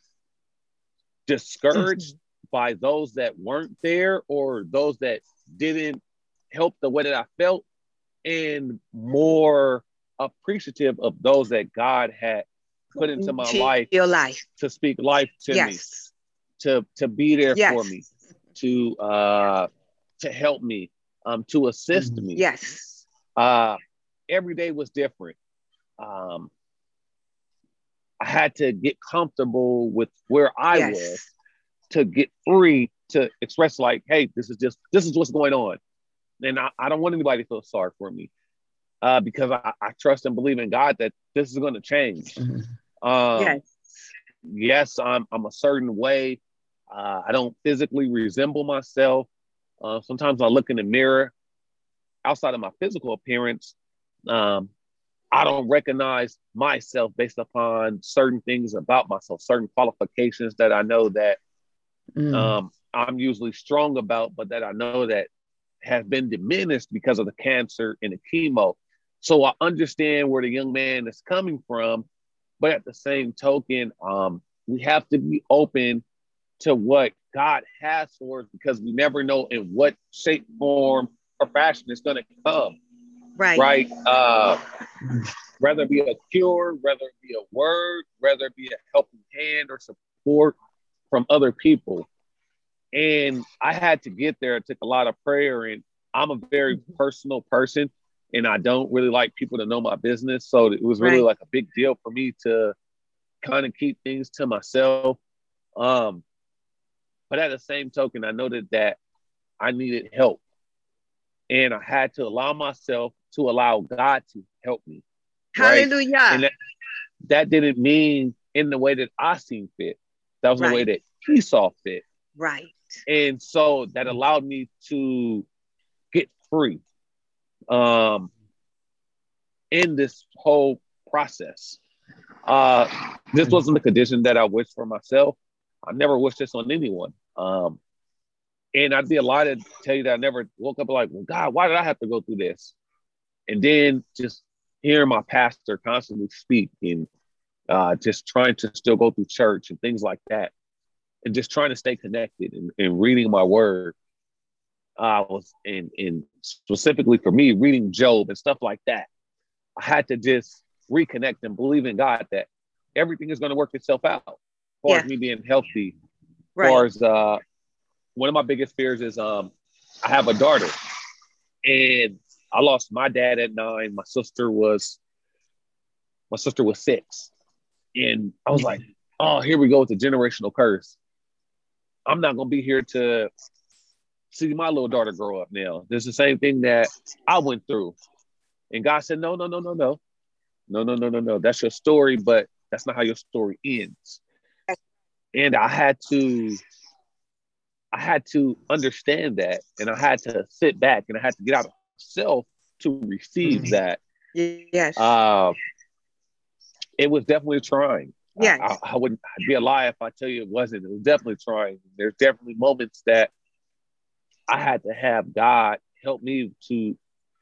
discouraged mm-hmm. by those that weren't there or those that didn't help the way that I felt, and more appreciative of those that God had put into my life, your life to speak life to yes. me, to to be there yes. for me, to uh, to help me, um, to assist mm-hmm. me. Yes. Uh, every day was different. Um, I had to get comfortable with where I yes. was to get free to express like, hey, this is just this is what's going on. And I, I don't want anybody to feel sorry for me uh, because I, I trust and believe in God that this is going to change. Mm-hmm. Um, yes. yes, I'm I'm a certain way. Uh, I don't physically resemble myself. Uh, sometimes I look in the mirror outside of my physical appearance. Um, I don't recognize myself based upon certain things about myself, certain qualifications that I know that mm. um, I'm usually strong about, but that I know that have been diminished because of the cancer and the chemo. So I understand where the young man is coming from, but at the same token, um, we have to be open to what God has for us because we never know in what shape, form, or fashion it's going to come. Right. Right. Uh, whether it be a cure, whether it be a word, whether it be a helping hand or support from other people. And I had to get there. It took a lot of prayer, and I'm a very personal person, and I don't really like people to know my business. So it was really right. like a big deal for me to kind of keep things to myself. Um, but at the same token, I noted that I needed help. And I had to allow myself to allow God to help me. Right? Hallelujah. And that, that didn't mean in the way that I seen fit. That was Right. the way that he saw fit. Right. And so that allowed me to get free um, in this whole process. Uh, this wasn't the condition that I wished for myself. I never wished this on anyone. Um, and I'd be a lie to tell you that I never woke up like, well, God, why did I have to go through this? And then just hearing my pastor constantly speak and uh, just trying to still go through church and things like that. And just trying to stay connected and, and reading my word. I uh, was in, in specifically for me, reading Job and stuff like that. I had to just reconnect and believe in God that everything is going to work itself out. As far Yeah. as me being healthy. Right. As far as uh, one of my biggest fears is um, I have a daughter. And I lost my dad at nine. My sister was, my sister was six. And I was like, oh, here we go with the generational curse. I'm not going to be here to see my little daughter grow up now. This is the same thing that I went through. And God said, no, no, no, no, no. No, no, no, no, no. That's your story, but that's not how your story ends. And I had to, I had to understand that. And I had to sit back and I had to get out of myself to receive mm-hmm. that. Yes. Uh, it was definitely trying. Yes. I, I, I wouldn't I'd be a lie if I tell you it wasn't. It was definitely trying. There's definitely moments that I had to have God help me to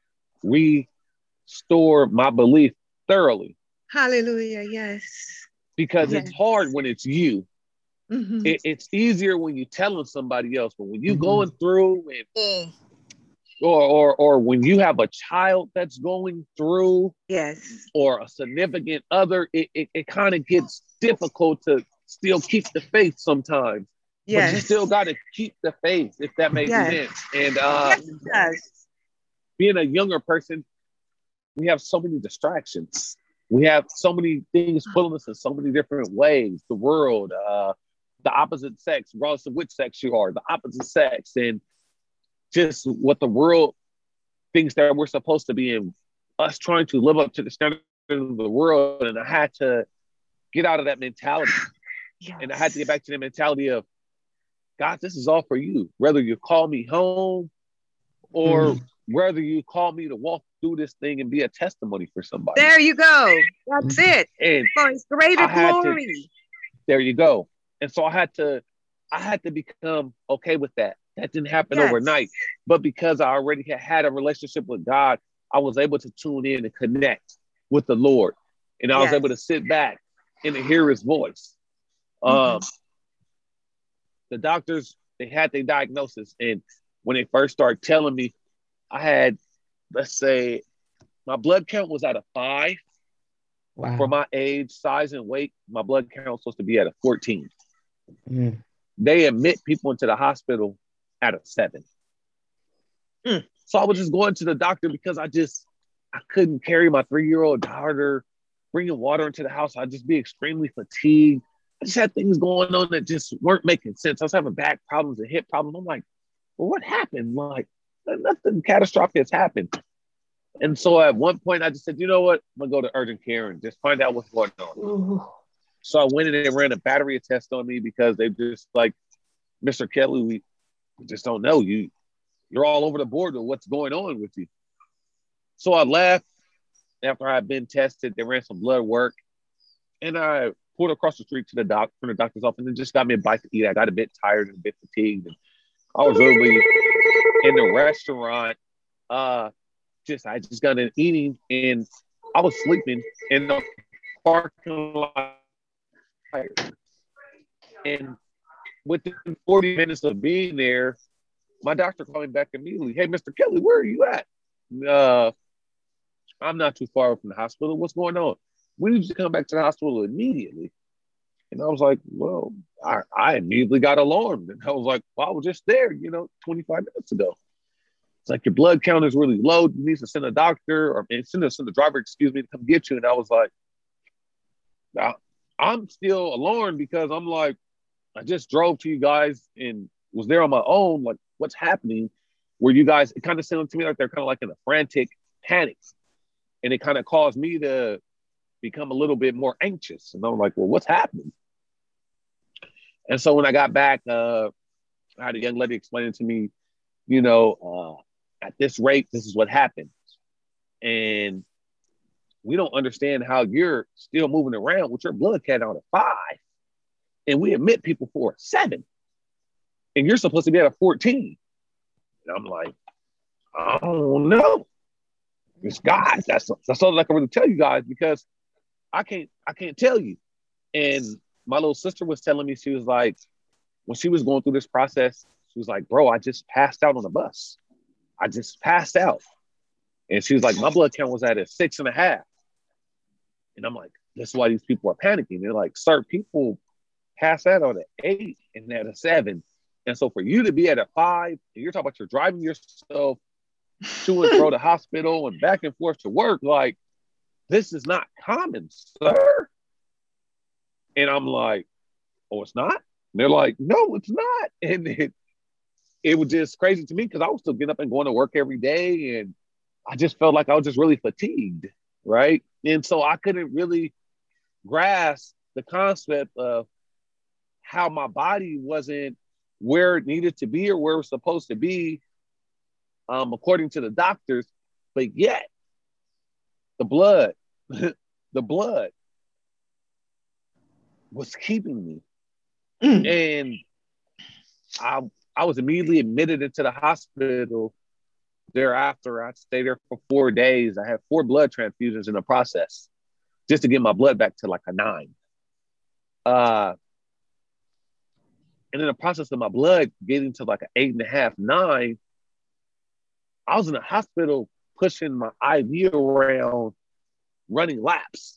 restore my belief thoroughly. Hallelujah. Yes. Because yes. it's hard when it's you. Mm-hmm. It, it's easier when you're telling somebody else, but when you're mm-hmm. going through and mm. or, or or when you have a child that's going through, yes, or a significant other, it, it, it kind of gets difficult to still keep the faith sometimes. Yes. But you still got to keep the faith, if that makes yes. sense. And uh, yes. being a younger person, we have so many distractions. We have so many things pulling us in so many different ways. The world, uh, the opposite sex, regardless of which sex you are, the opposite sex, and just what the world thinks that we're supposed to be in. Us trying to live up to the standard of the world, and I had to get out of that mentality. Yes. And I had to get back to the mentality of, God, this is all for you. Whether you call me home or mm. whether you call me to walk through this thing and be a testimony for somebody. There you go. That's it. And for his greater glory. To, there you go. And so I had to, I had to become okay with that. That didn't happen yes. overnight. But because I already had had a relationship with God, I was able to tune in and connect with the Lord. And I yes. was able to sit back and to hear his voice. Mm-hmm. Um, the doctors, they had their diagnosis. And when they first started telling me, I had, let's say, my blood count was at a five. Wow. For my age, size, and weight, my blood count was supposed to be at a fourteen. Mm. They admit people into the hospital at a seven. Mm. So I was just going to the doctor because I just, I couldn't carry my three-year-old daughter, bringing water into the house. I'd just be extremely fatigued. I just had things going on that just weren't making sense. I was having back problems and hip problems. I'm like, well, what happened? Like, nothing catastrophic has happened. And so at one point I just said, you know what? I'm gonna go to urgent care and just find out what's going on. Ooh. So I went in and they ran a battery test on me because they just like, Mister Kelly, we just don't know. You, you're all over the board with what's going on with you. So I left after I had been tested. They ran some blood work and I pulled across the street to the doc from the doctor's office and just got me a bite to eat. I got a bit tired and a bit fatigued. And I was literally in the restaurant. Uh, just I just got in eating and I was sleeping in the parking lot. And within forty minutes of being there, my doctor called me back immediately. Hey, Mister Kelly, where are you at? Uh, I'm not too far from the hospital. What's going on? We need you to come back to the hospital immediately. And I was like, well, I, I immediately got alarmed. And I was like, well, I was just there, you know, twenty-five minutes ago. It's like, your blood count is really low. You need to send a doctor or send a, send a driver, excuse me, to come get you. And I was like, I, I'm still alarmed because I'm like, I just drove to you guys and was there on my own. Like, what's happening? Where you guys, it kind of sounded to me like they're kind of like in a frantic panic. And it kind of caused me to become a little bit more anxious. And I'm like, well, what's happening? And so when I got back, uh, I had a young lady explaining to me, you know, uh, at this rate, this is what happens. And we don't understand how you're still moving around with your blood count out of five. And we admit people for a seven. And you're supposed to be at a fourteen. And I'm like, I don't know. It's God. That's, that's all I can really tell you guys, because I can't, I can't tell you. And my little sister was telling me, she was like, when she was going through this process, she was like, bro, I just passed out on the bus. I just passed out. And she was like, my blood count was at a six and a half. And I'm like, that's why these people are panicking. They're like, sir, people pass out on an eight and at a seven. And so for you to be at a five, and you're talking about you're driving yourself to and fro to hospital and back and forth to work, like, this is not common, sir. And I'm like, oh, it's not? And they're like, no, it's not. And it, it was just crazy to me because I was still getting up and going to work every day. And I just felt like I was just really fatigued, right? And so I couldn't really grasp the concept of how my body wasn't where it needed to be or where it was supposed to be, um, according to the doctors. But yet, the blood, the blood was keeping me. Mm. And I, I was immediately admitted into the hospital. Thereafter, I stayed there for four days. I had four blood transfusions in the process just to get my blood back to like a nine. Uh, and in the process of my blood getting to like an eight and a half, nine, I was in the hospital pushing my I V around, running laps.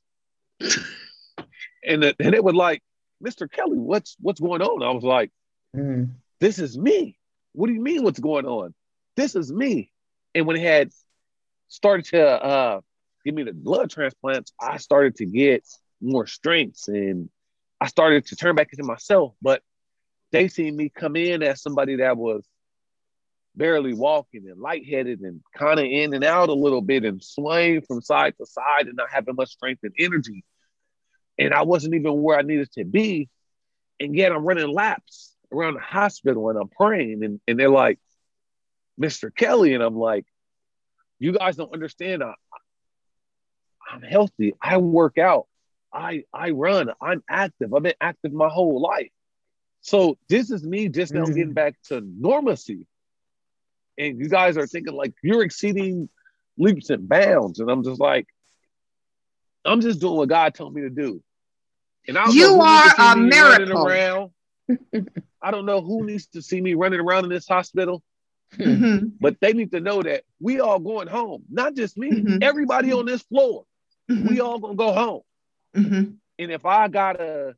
and, it, and it was like, Mister Kelly, what's what's going on? I was like, mm. this is me. What do you mean what's going on? This is me. And when it had started to uh, give me the blood transplants, I started to get more strength and I started to turn back into myself. But they seen me come in as somebody that was barely walking and lightheaded and kind of in and out a little bit and swaying from side to side and not having much strength and energy. And I wasn't even where I needed to be. And yet I'm running laps around the hospital and I'm praying. And, and they're like, Mister Kelly. And I'm like, you guys don't understand. I, I'm healthy. I work out. I, I run. I'm active. I've been active my whole life. So this is me just now mm. getting back to normalcy. And you guys are thinking like you're exceeding leaps and bounds. And I'm just like, I'm just doing what God told me to do. And I don't you know are a miracle. Around. I don't know who needs to see me running around in this hospital, mm-hmm. but they need to know that we all going home. Not just me, mm-hmm. everybody on this floor. Mm-hmm. We all gonna go home. Mm-hmm. And if I gotta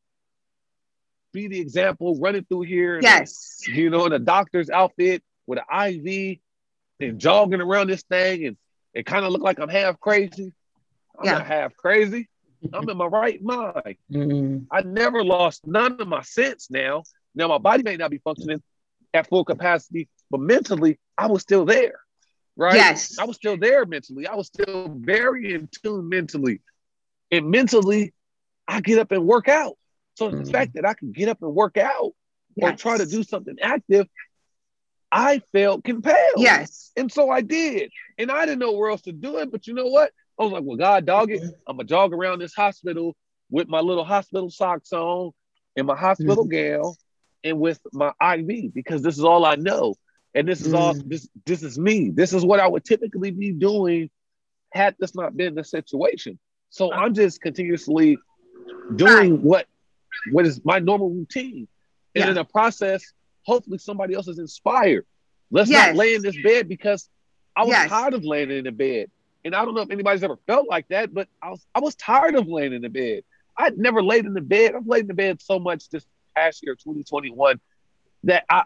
be the example running through here, yes, and, you know, in a doctor's outfit with an I V and jogging around this thing, and it kind of look like I'm half crazy. I'm yeah. not half crazy. I'm in my right mind. Mm-hmm. I never lost none of my sense now. Now, my body may not be functioning at full capacity, but mentally, I was still there, right? Yes. I was still there mentally. I was still very in tune mentally. And mentally, I get up and work out. So mm-hmm. the fact that I can get up and work out yes. or try to do something active, I felt compelled. Yes. And so I did. And I didn't know where else to do it, but you know what? I was like, well, God, dog it. I'm going to jog around this hospital with my little hospital socks on and my hospital mm-hmm. gown and with my I V because this is all I know. And this is mm-hmm. all, this, this is me. This is what I would typically be doing had this not been the situation. So I'm just continuously doing what, what is my normal routine. And yeah. in the process, hopefully somebody else is inspired. Let's yes. not lay in this bed because I was yes. tired of laying in the bed. And I don't know if anybody's ever felt like that, but I was I was tired of laying in the bed. I'd never laid in the bed. I've laid in the bed so much this past year, twenty twenty-one, that I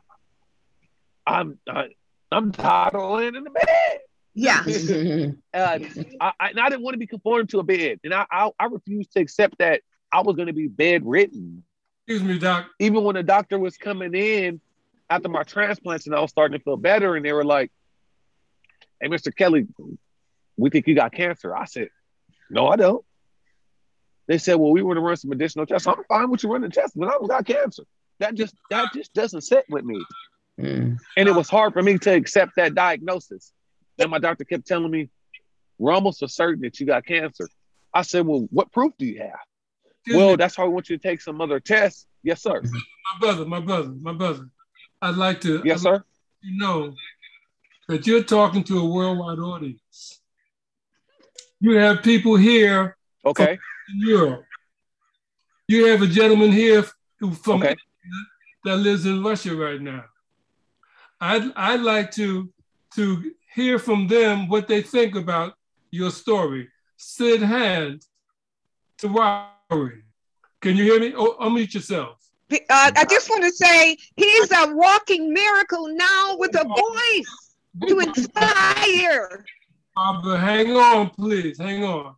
I'm I, I'm tired of laying in the bed. Yeah. uh, I, I, and I didn't want to be conformed to a bed, and I I, I refused to accept that I was going to be bedridden. Excuse me, Doc. Even when the doctor was coming in after my transplants and I was starting to feel better, and they were like, "Hey, Mister Kelly, we think you got cancer." I said, "No, I don't." They said, "Well, we want to run some additional tests." I'm fine with you running tests, but I don't got cancer. That just that just doesn't sit with me. Mm. And it was hard for me to accept that diagnosis. And my doctor kept telling me, "We're almost for certain that you got cancer." I said, "Well, what proof do you have?" Excuse well, me. That's why I want you to take some other tests. Yes, sir. My brother, my brother, my brother. I'd like to. Yes, I'd sir. Like you know that you're talking to a worldwide audience. You have people here. Okay. From Europe. You have a gentleman here who from okay. that lives in Russia right now. I'd I'd like to to hear from them what they think about your story. Sid Hand to Wari. Can you hear me? Oh, unmute yourself. Uh, I just want to say he's a walking miracle now with a voice to inspire. Barbara, hang on, please. Hang on.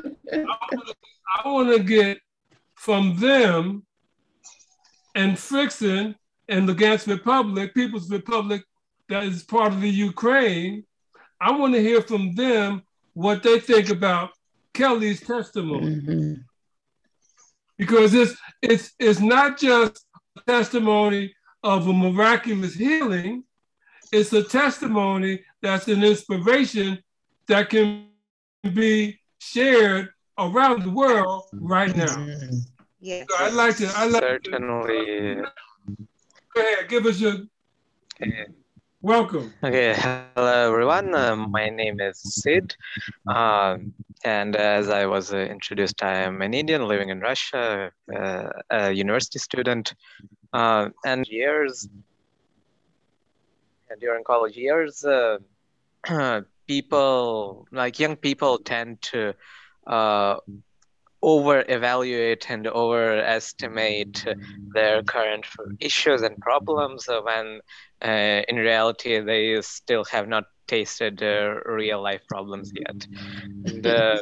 I want to get from them and Frickson and the Lugansk Republic, People's Republic that is part of the Ukraine. I want to hear from them what they think about Kelly's testimony. Mm-hmm. Because it's, it's, it's not just a testimony of a miraculous healing, it's a testimony that's an inspiration that can be shared around the world right now. Yes. So I'd like to, I'd like Certainly. To, go ahead, give us your, okay. Welcome. Okay, hello everyone. Uh, my name is Sid. Uh, and as I was uh, introduced, I am an Indian living in Russia, uh, a university student. Uh, and years, during college years, uh, people, like young people tend to uh, over-evaluate and overestimate their current issues and problems when uh, in reality they still have not tasted uh, real life problems yet. And, uh,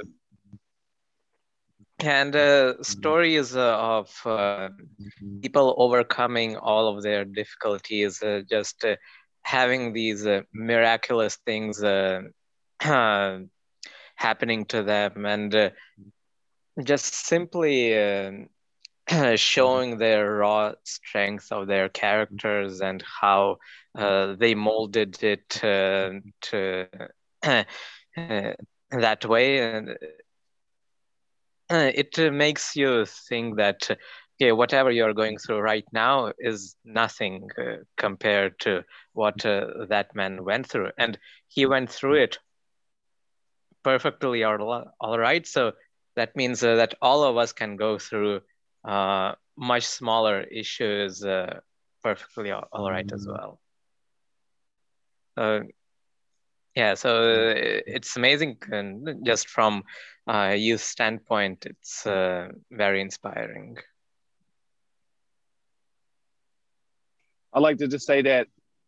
and uh, stories uh, of uh, people overcoming all of their difficulties, uh, just uh, having these uh, miraculous things uh, happening to them, and uh, just simply uh, showing their raw strength of their characters and how uh, they molded it uh, to uh, that way. And uh, it uh, makes you think that, okay, whatever you're going through right now is nothing uh, compared to what uh, that man went through. And he went through it perfectly all, all right. So that means uh, that all of us can go through uh, much smaller issues uh, perfectly all, all right as well. Uh, yeah, so uh, it's amazing, and just from a youth standpoint, it's uh, very inspiring. I like to just say that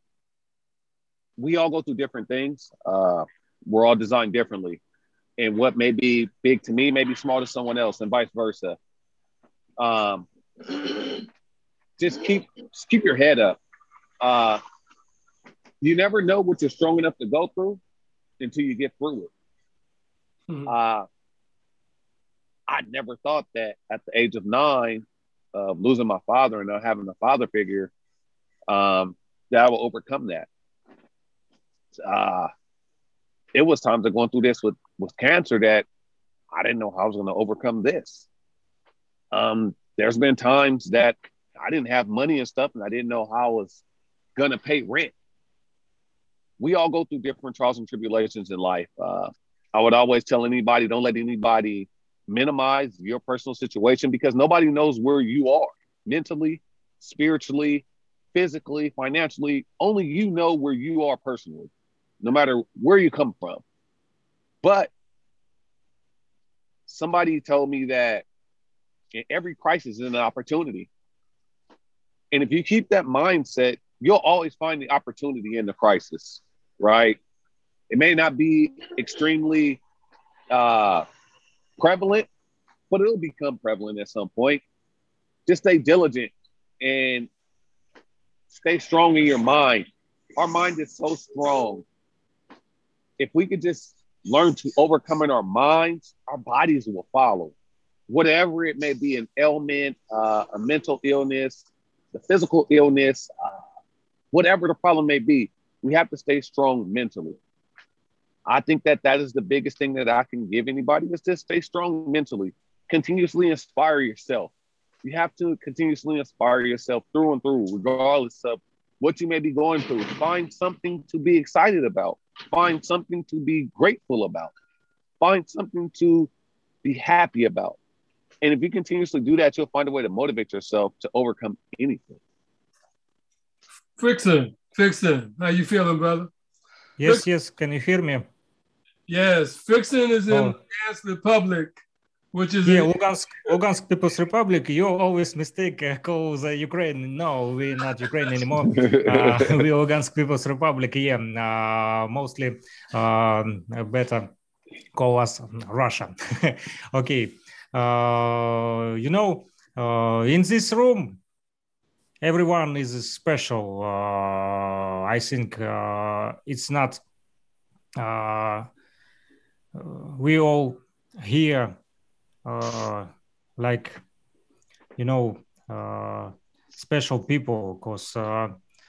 we all go through different things. Uh, we're all designed differently. And what may be big to me may be small to someone else, and vice versa. Um, just keep just keep your head up. Uh, you never know what you're strong enough to go through until you get through it. Mm-hmm. Uh, I never thought that at the age of nine, of uh, losing my father and not having a father figure, um, that I will overcome that. Uh, it was times of going through this with, with cancer that I didn't know how I was going to overcome this. Um, there's been times that I didn't have money and stuff, and I didn't know how I was going to pay rent. We all go through different trials and tribulations in life. Uh, I would always tell anybody, don't let anybody minimize your personal situation, because nobody knows where you are mentally, spiritually, physically, financially. Only you know where you are personally, no matter where you come from. But somebody told me that in every crisis is an opportunity. And if you keep that mindset, you'll always find the opportunity in the crisis, right? It may not be extremely uh, prevalent, but it'll become prevalent at some point. just stay diligent and stay strong in your mind. Our mind is so strong. If we could just learn to overcome in our minds, our bodies will follow. Whatever it may be, an ailment, uh, a mental illness, the physical illness, uh, whatever the problem may be, we have to stay strong mentally. I think that that is the biggest thing that I can give anybody is just stay strong mentally. Continuously inspire yourself. You have to continuously inspire yourself through and through, regardless of what you may be going through. Find something to be excited about. Find something to be grateful about. Find something to be happy about. And if you continuously do that, you'll find a way to motivate yourself to overcome anything. Fixin, Fixin, how you feeling, brother? Yes, Fixin. yes. Can you hear me? Yes, Fixin is in Oh. Lugansk Republic, which is Yeah, in- Lugansk, Lugansk People's Republic. You always mistake uh, call the Ukraine. No, we're not Ukraine anymore. uh, we Lugansk People's Republic. Yeah, uh, mostly um, better call us Russia. Okay. Uh, you know, uh, in this room, everyone is special. Uh, I think uh, it's not. Uh, we all here. Uh, like, you know, uh, special people, because uh,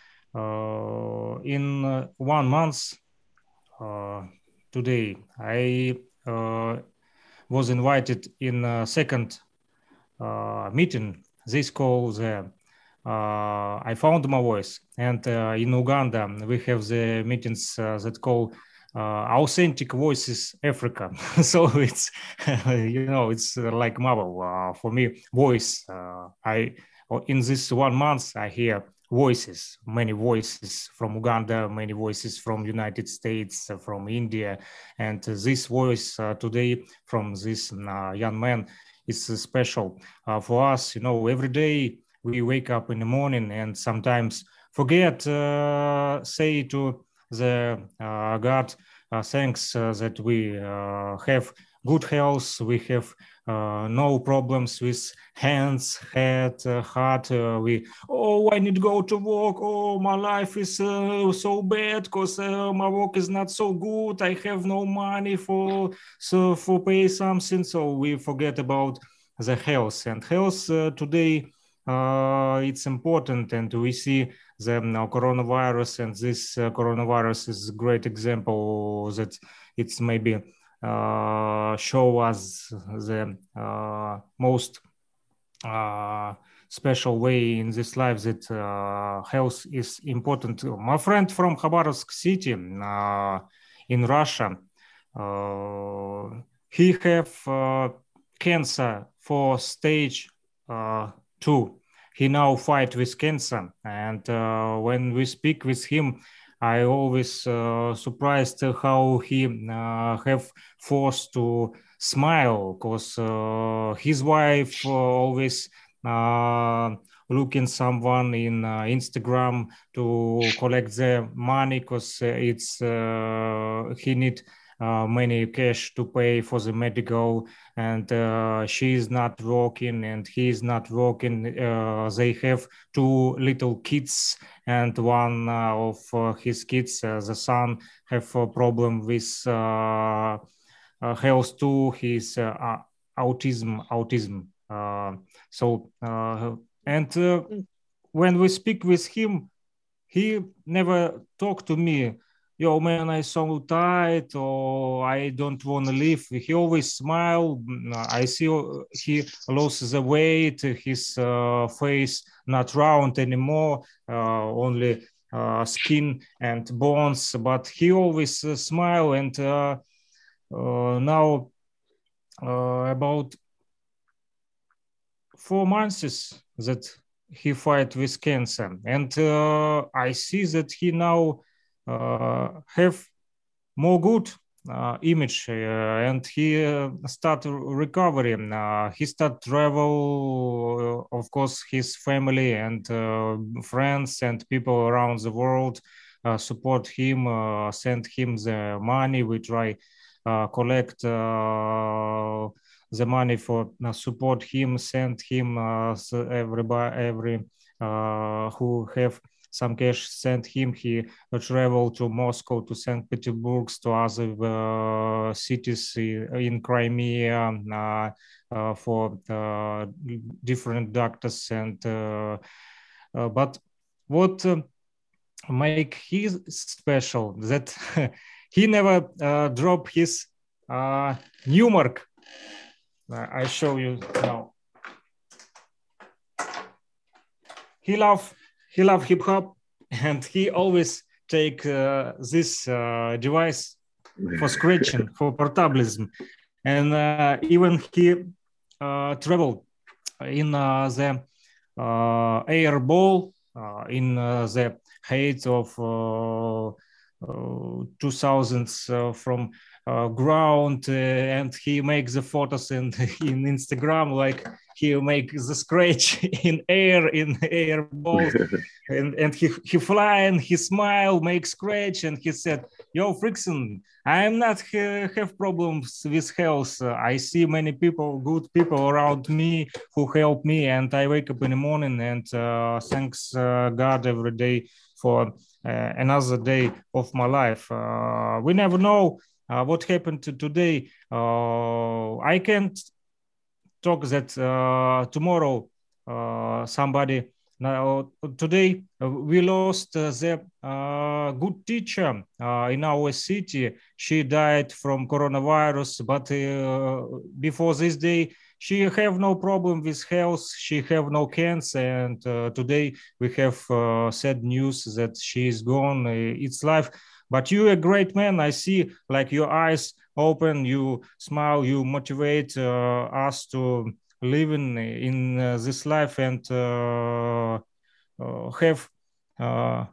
uh, in uh, one month uh, today, I uh, was invited in a second uh, meeting. This called the uh, I Found My Voice. And uh, in Uganda, we have the meetings uh, that call Uh, Authentic Voices Africa. So it's, you know, it's uh, like Marvel. Uh, for me, voice. Uh, I in this one month, I hear voices, many voices from Uganda, many voices from United States, uh, from India. And uh, this voice uh, today from this uh, young man is uh, special uh, for us. You know, every day we wake up in the morning and sometimes forget, uh, say to the uh, God, uh, thanks uh, that we uh, have good health, we have uh, no problems with hands, head, uh, heart. Uh, we, oh, I need to go to work. Oh, my life is uh, so bad because uh, my work is not so good. I have no money for so for pay something. So we forget about the health. And health uh, today, uh, it's important, and we see the uh, coronavirus, and this uh, coronavirus is a great example that it's maybe uh, show us the uh, most uh, special way in this life that uh, health is important. My friend from Khabarovsk city uh, in Russia, uh, he have uh, cancer for stage uh, two. He now fight with cancer, and uh, when we speak with him, I always uh, surprised how he uh, have forced to smile, because uh, his wife uh, always uh, looking someone in uh, Instagram to collect the money, because it's uh, he need Uh, many cash to pay for the medical, and uh, she is not working and he is not working. Uh, they have two little kids, and one uh, of uh, his kids, uh, the son, have a problem with uh, uh, health too. He's uh, autism, autism. Uh, so, uh, and uh, when we speak with him, he never talked to me, yo, man, I so tired, or I don't want to live. He always smile. I see he lost the weight, his uh, face not round anymore, uh, only uh, skin and bones, but he always uh, smile. And uh, uh, now uh, about four months that he fight with cancer. And uh, I see that he now Uh, have more good uh, image, uh, and he uh, start recovering. Uh, he start travel, uh, of course, his family and uh, friends and people around the world uh, support him, uh, send him the money. We try uh, collect uh, the money for uh, support him, send him uh, so everybody, every uh, who have some cash, send him. He uh, travel to Moscow, to Saint Petersburg, to other uh, cities in, in Crimea uh, uh, for uh, different doctors. And uh, uh, but what uh, make his special that he never uh, drop his uh, new mark. I show you now. He love he love hip hop, and he always take uh, this uh, device for scratching, for portablism, and uh, even he uh, traveled in uh, the uh, air ball uh, in uh, the height of uh, uh, two thousands uh, from uh, ground, uh, and he makes the photos in in Instagram like he makes the scratch in air in air balls, and and he he fly and he smile, make scratch, and he said, "Yo, Frickson, I am not ha have problems with health. I see many people, good people around me who help me, and I wake up in the morning and uh, thanks uh, God every day for uh, another day of my life. Uh, we never know uh, what happened to today. Uh, I can't talk that uh, tomorrow uh, somebody now today uh, we lost uh, the uh, good teacher uh, in our city. She died from coronavirus, but uh, before this day she have no problem with health, she have no cancer, and uh, today we have uh, sad news that she is gone. It's life. But you a great man. I see like your eyes open, you smile, you motivate uh, us to live in, in uh, this life and uh, uh, have uh,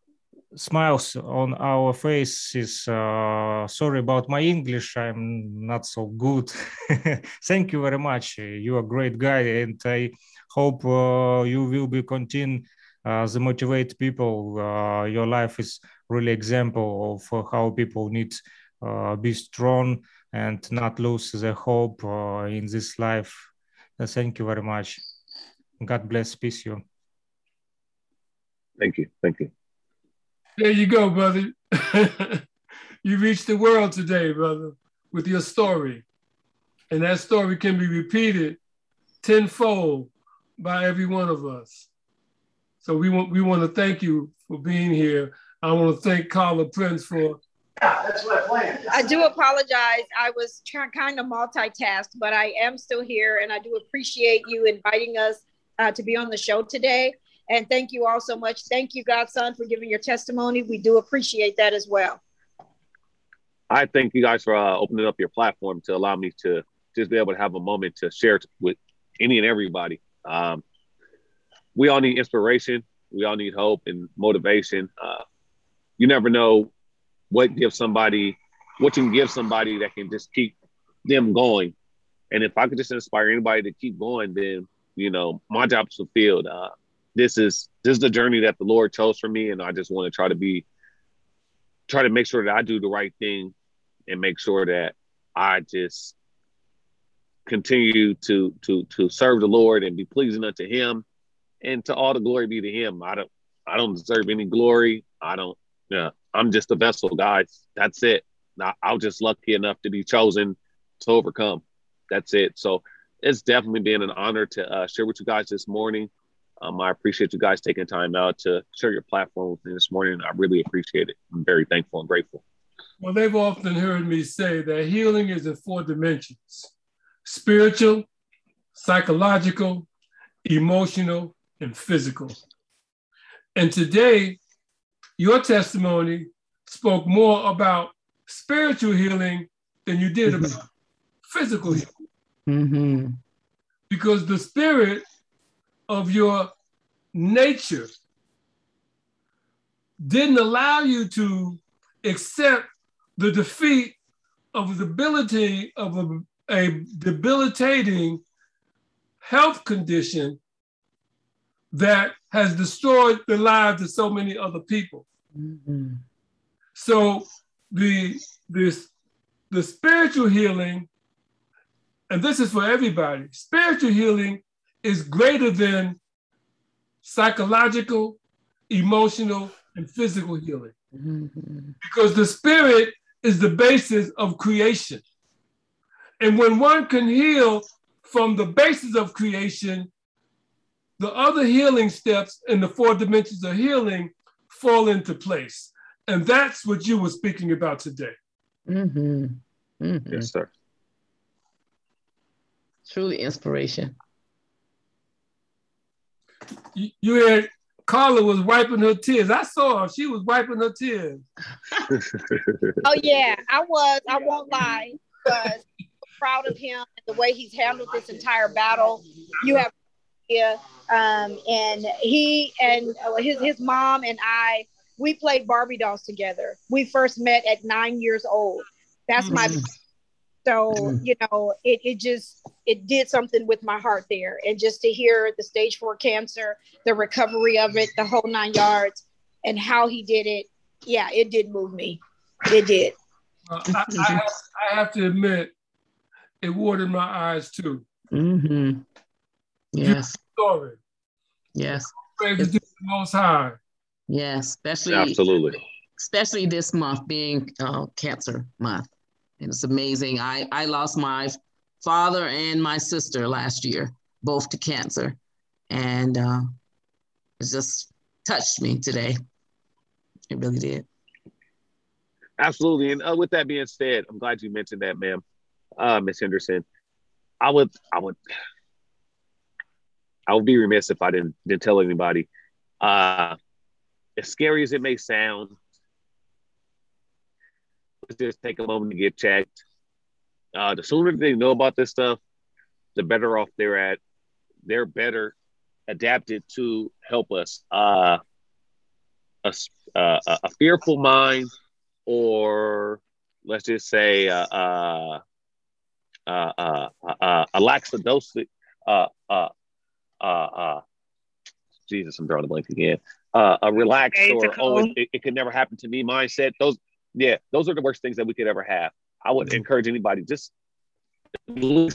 smiles on our faces. Uh, sorry about my English. I'm not so good. Thank you very much. You are a great guy, and I hope uh, you will be continue uh, the motivate people. Uh, your life is really example of uh, how people need uh, be strong and not lose the hope uh, in this life. Uh, thank you very much. God bless, peace you. Thank you, thank you. There you go, brother. You reached the world today, brother, with your story. And that story can be repeated tenfold by every one of us. So we want, we want to thank you for being here. I want to thank Carla Prince for... Yeah, that's what I planned. I do apologize. I was trying kind of multitask, but I am still here, and I do appreciate you inviting us uh, to be on the show today. And thank you all so much. Thank you, Godson, for giving your testimony. We do appreciate that as well. I thank you guys for uh, opening up your platform to allow me to just be able to have a moment to share with any and everybody. Um, we all need inspiration. We all need hope and motivation. Uh, you never know what gives somebody, what you can give somebody that can just keep them going. And if I could just inspire anybody to keep going, then, you know, my job is fulfilled. Uh, this is, this is the journey that the Lord chose for me. And I just want to try to be, try to make sure that I do the right thing and make sure that I just continue to, to, to serve the Lord and be pleasing unto him, and to all the glory be to him. I don't, I don't deserve any glory. I don't, yeah, I'm just a vessel, guys. That's it. I, I was just lucky enough to be chosen to overcome. That's it. So it's definitely been an honor to uh, share with you guys this morning. Um, I appreciate you guys taking time out to share your platform with me this morning. I really appreciate it. I'm very thankful and grateful. Well, they've often heard me say that healing is in four dimensions: spiritual, psychological, emotional, and physical. And today, your testimony spoke more about spiritual healing than you did about mm-hmm. physical healing. Mm-hmm. Because the spirit of your nature didn't allow you to accept the defeat of the debility of a, a debilitating health condition that has destroyed the lives of so many other people. Mm-hmm. So the, the, the spiritual healing and this is for everybody, spiritual healing is greater than psychological, emotional, and physical healing. Mm-hmm. Because the spirit is the basis of creation. And when one can heal from the basis of creation, the other healing steps in the four dimensions of healing fall into place. And that's what you were speaking about today. Mm-hmm. Mm-hmm. Yes, sir. Truly inspiration. You, you had Carla was wiping her tears. I saw her. She was wiping her tears. Oh, yeah, I was. I won't lie. Because I'm proud of him and the way he's handled this entire battle. You have yeah, um, and he and his his mom and I, we played Barbie dolls together. We first met at nine years old. That's my Mm-hmm. so you know it it just it did something with my heart there, and just to hear the stage four cancer, the recovery of it, the whole nine yards, and how he did it. Yeah, it did move me. It did. Uh, I, I, have, I have to admit, it watered my eyes too. Mm-hmm. Yes. Story. Yes. Praise to the Most High. Yes, especially Absolutely. Especially this month being uh, Cancer Month, and it's amazing. I I lost my father and my sister last year, both to cancer, and uh, it just touched me today. It really did. Absolutely. And uh, with that being said, I'm glad you mentioned that, ma'am, uh, Miss Henderson. I would, I would, I would be remiss if I didn't didn't tell anybody. Uh, as scary as it may sound, let's just take a moment to get checked. Uh, the sooner they know about this stuff, the better off they're at. They're better adapted to help us. Uh, a, uh, a fearful mind, or let's just say uh, uh, uh, uh, uh, a lackadaisical, uh, uh, uh, uh, Jesus, I'm drawing a blank again. Uh, a relaxed or oh, it, it, it could never happen to me mindset. Those, yeah, those are the worst things that we could ever have. I would encourage anybody just guys,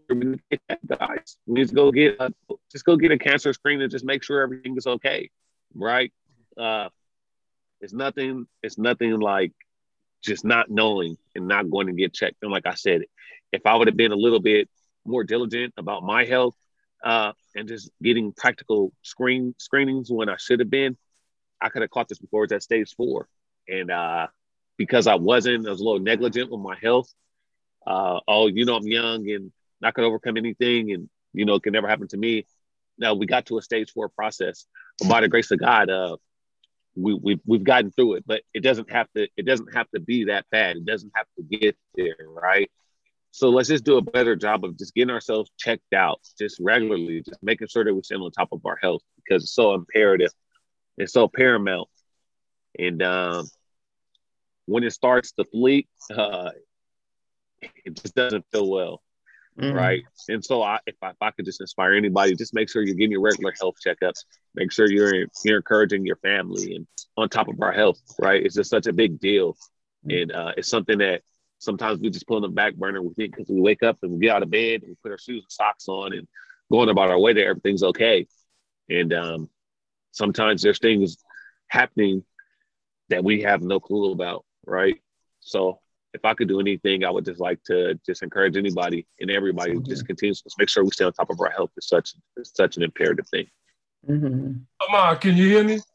we need to go get a, just go get a cancer screen and just make sure everything is okay, right? Uh, it's nothing. It's nothing like just not knowing and not going to get checked. And like I said, if I would have been a little bit more diligent about my health uh, and just getting practical screen screenings when I should have been, I could have caught this before it was at stage four. And uh, because I wasn't, I was a little negligent with my health. Uh, oh, you know, I'm young and not going to overcome anything, and you know, it can never happen to me. Now we got to a stage four process, but by the grace of God, uh, we we we've gotten through it. But it doesn't have to. It doesn't have to be that bad. It doesn't have to get there, right? So let's just do a better job of just getting ourselves checked out, just regularly, just making sure that we stay on top of our health, because it's so imperative. It's so paramount. And um, when it starts to flee, uh, it just doesn't feel well, mm. right? And so I, if, I, if I could just inspire anybody, just make sure you're getting your regular health checkups. Make sure you're you're encouraging your family and on top of our health, right? It's just such a big deal. Mm. And uh, it's something that sometimes we just put on the back burner. We think because we wake up and we get out of bed and we put our shoes and socks on and going about our way that everything's okay. And um, sometimes there's things happening that we have no clue about, right? So if I could do anything, I would just like to just encourage anybody and everybody mm-hmm. just continues to make sure we stay on top of our health. It's such it's such an imperative thing. Mm-hmm. Amar, can you hear me?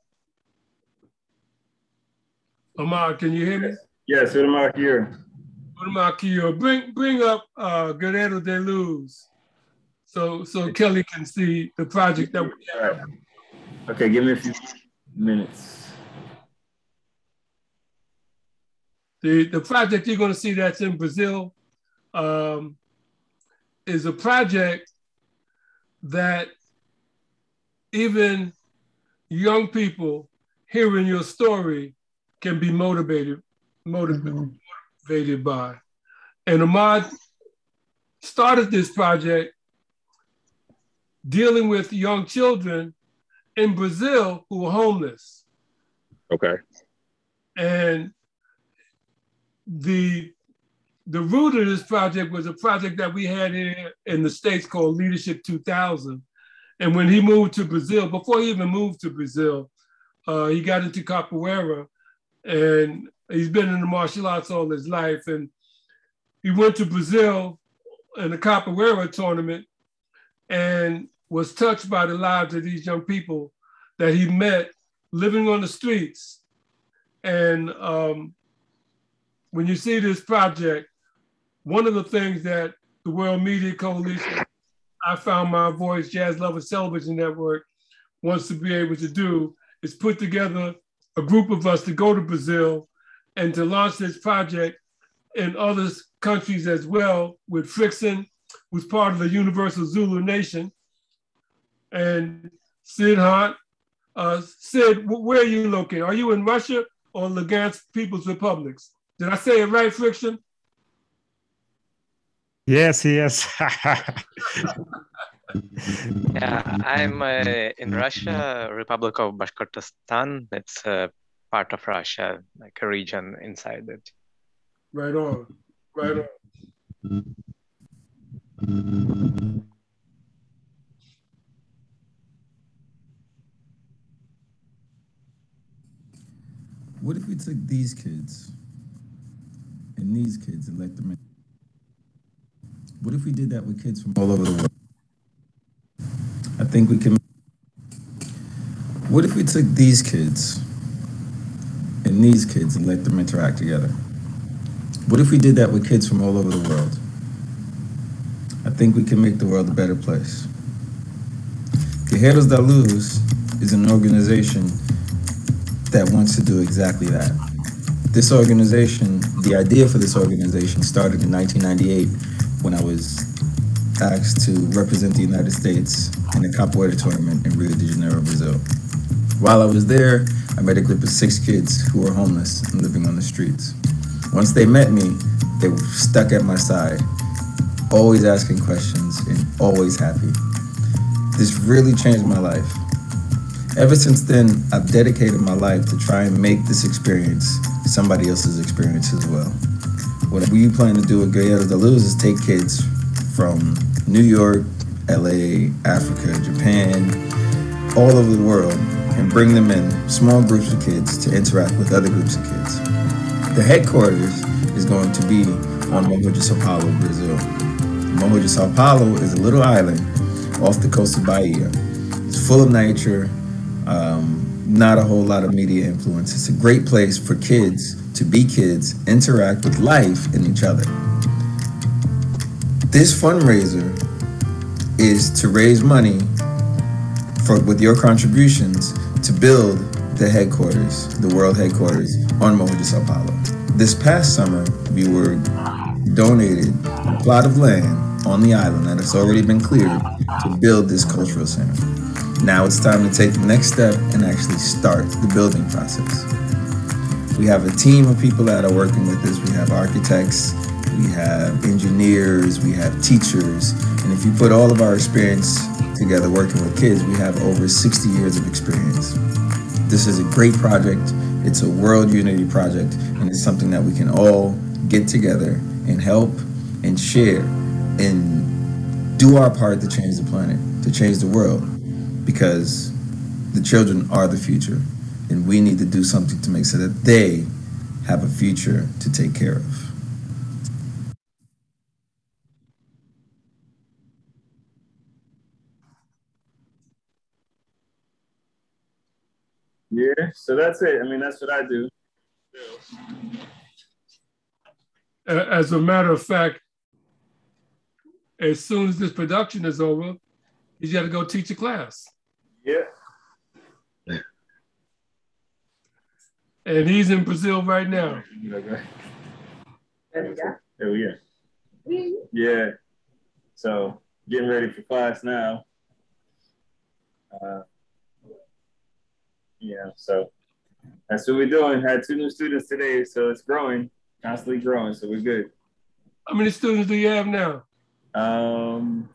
Amar, can you hear me? Yes, Amar here. Amar here. Bring bring up uh, Guerrero de Luz, so so Kelly can see the project that we have. Right. Okay, give me a few minutes. The, the project you're going to see that's in Brazil um, is a project that even young people hearing your story can be motivated, motivated, mm-hmm. motivated by. And Ahmad started this project dealing with young children in Brazil who were homeless. Okay. And the the root of this project was a project that we had here in the States called Leadership two thousand. And when he moved to Brazil, before he even moved to Brazil, uh, he got into capoeira, and he's been in the martial arts all his life. And he went to Brazil in a capoeira tournament and was touched by the lives of these young people that he met living on the streets. And um, when you see this project, one of the things that the World Media Coalition, I Found My Voice, Jazz Lovers Television Network wants to be able to do is put together a group of us to go to Brazil and to launch this project in other countries as well, with Frickson, who's part of the Universal Zulu Nation, and Sid Hart. Uh, Sid, where are you located? Are you in Russia or Lugansk People's Republics? Did I say it right, Frickson? Yes, yes. Yeah, I'm uh, in Russia, Republic of Bashkortostan. It's a part of Russia, like a region inside it. Right on, right on. What if we took these kids and these kids and let them in? What if we did that with kids from all over the world? I think we can. What if we took these kids and these kids and let them interact together? What if we did that with kids from all over the world? I think we can make the world a better place. Guerreiros da Luz is an organization that wants to do exactly that. This organization, the idea for this organization started in nineteen ninety-eight when I was asked to represent the United States in a capoeira tournament in Rio de Janeiro, Brazil. While I was there, I met a group of six kids who were homeless and living on the streets. Once they met me, they were stuck at my side, always asking questions and always happy. This really changed my life. Ever since then, I've dedicated my life to try and make this experience somebody else's experience as well. What we plan to do with Guerreiros da Luz is take kids from New York, L A, Africa, Japan, all over the world, and bring them in small groups of kids to interact with other groups of kids. The headquarters is going to be on Morro de Sao Paulo, Brazil. Morro de Sao Paulo is a little island off the coast of Bahia. It's full of nature, um, not a whole lot of media influence. It's a great place for kids to be kids, interact with life and each other. This fundraiser is to raise money for, with your contributions, to build the headquarters, the world headquarters on Morro de Sao Paulo. This past summer, we were donated a plot of land on the island that has already been cleared to build this cultural center. Now it's time to take the next step and actually start the building process. We have a team of people that are working with us. We have architects, we have engineers, we have teachers, and if you put all of our experience together working with kids, we have over sixty years of experience. This is a great project. It's a world unity project, and it's something that we can all get together and help and share and do our part to change the planet, to change the world, because the children are the future, and we need to do something to make sure that they have a future to take care of. Yeah, so that's it. I mean, that's what I do. As a matter of fact, as soon as this production is over, he's got to go teach a class. Yeah. And he's in Brazil right now. Okay. Oh, yeah. Yeah. So getting ready for class now. Uh, yeah, so that's what we're doing. Had two new students today, so it's growing, constantly growing, so we're good. How many students do you have now? Um,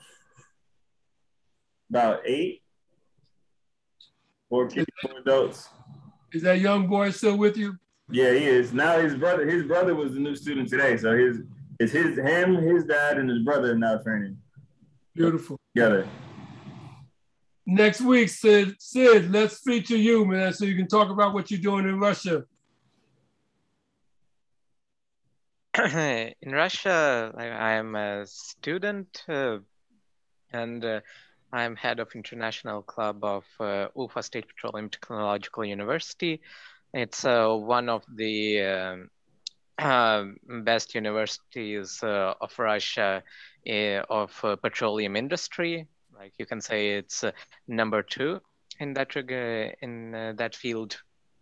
about eight. Four kids, four adults. Is that young boy still with you? Yeah, he is. Now his brother, his brother was the new student today, so his It's his, him, his dad, and his brother now training. Beautiful. Together. Next week, Sid, Sid, let's feature you, man, so you can talk about what you're doing in Russia. In Russia, I, I'm a student uh, and uh, I'm head of International Club of uh, Ufa State Petroleum Technological University. It's uh, one of the um, uh, best universities uh, of Russia uh, of uh, petroleum industry. Like you can say it's uh, number two in that uh, in uh, that field.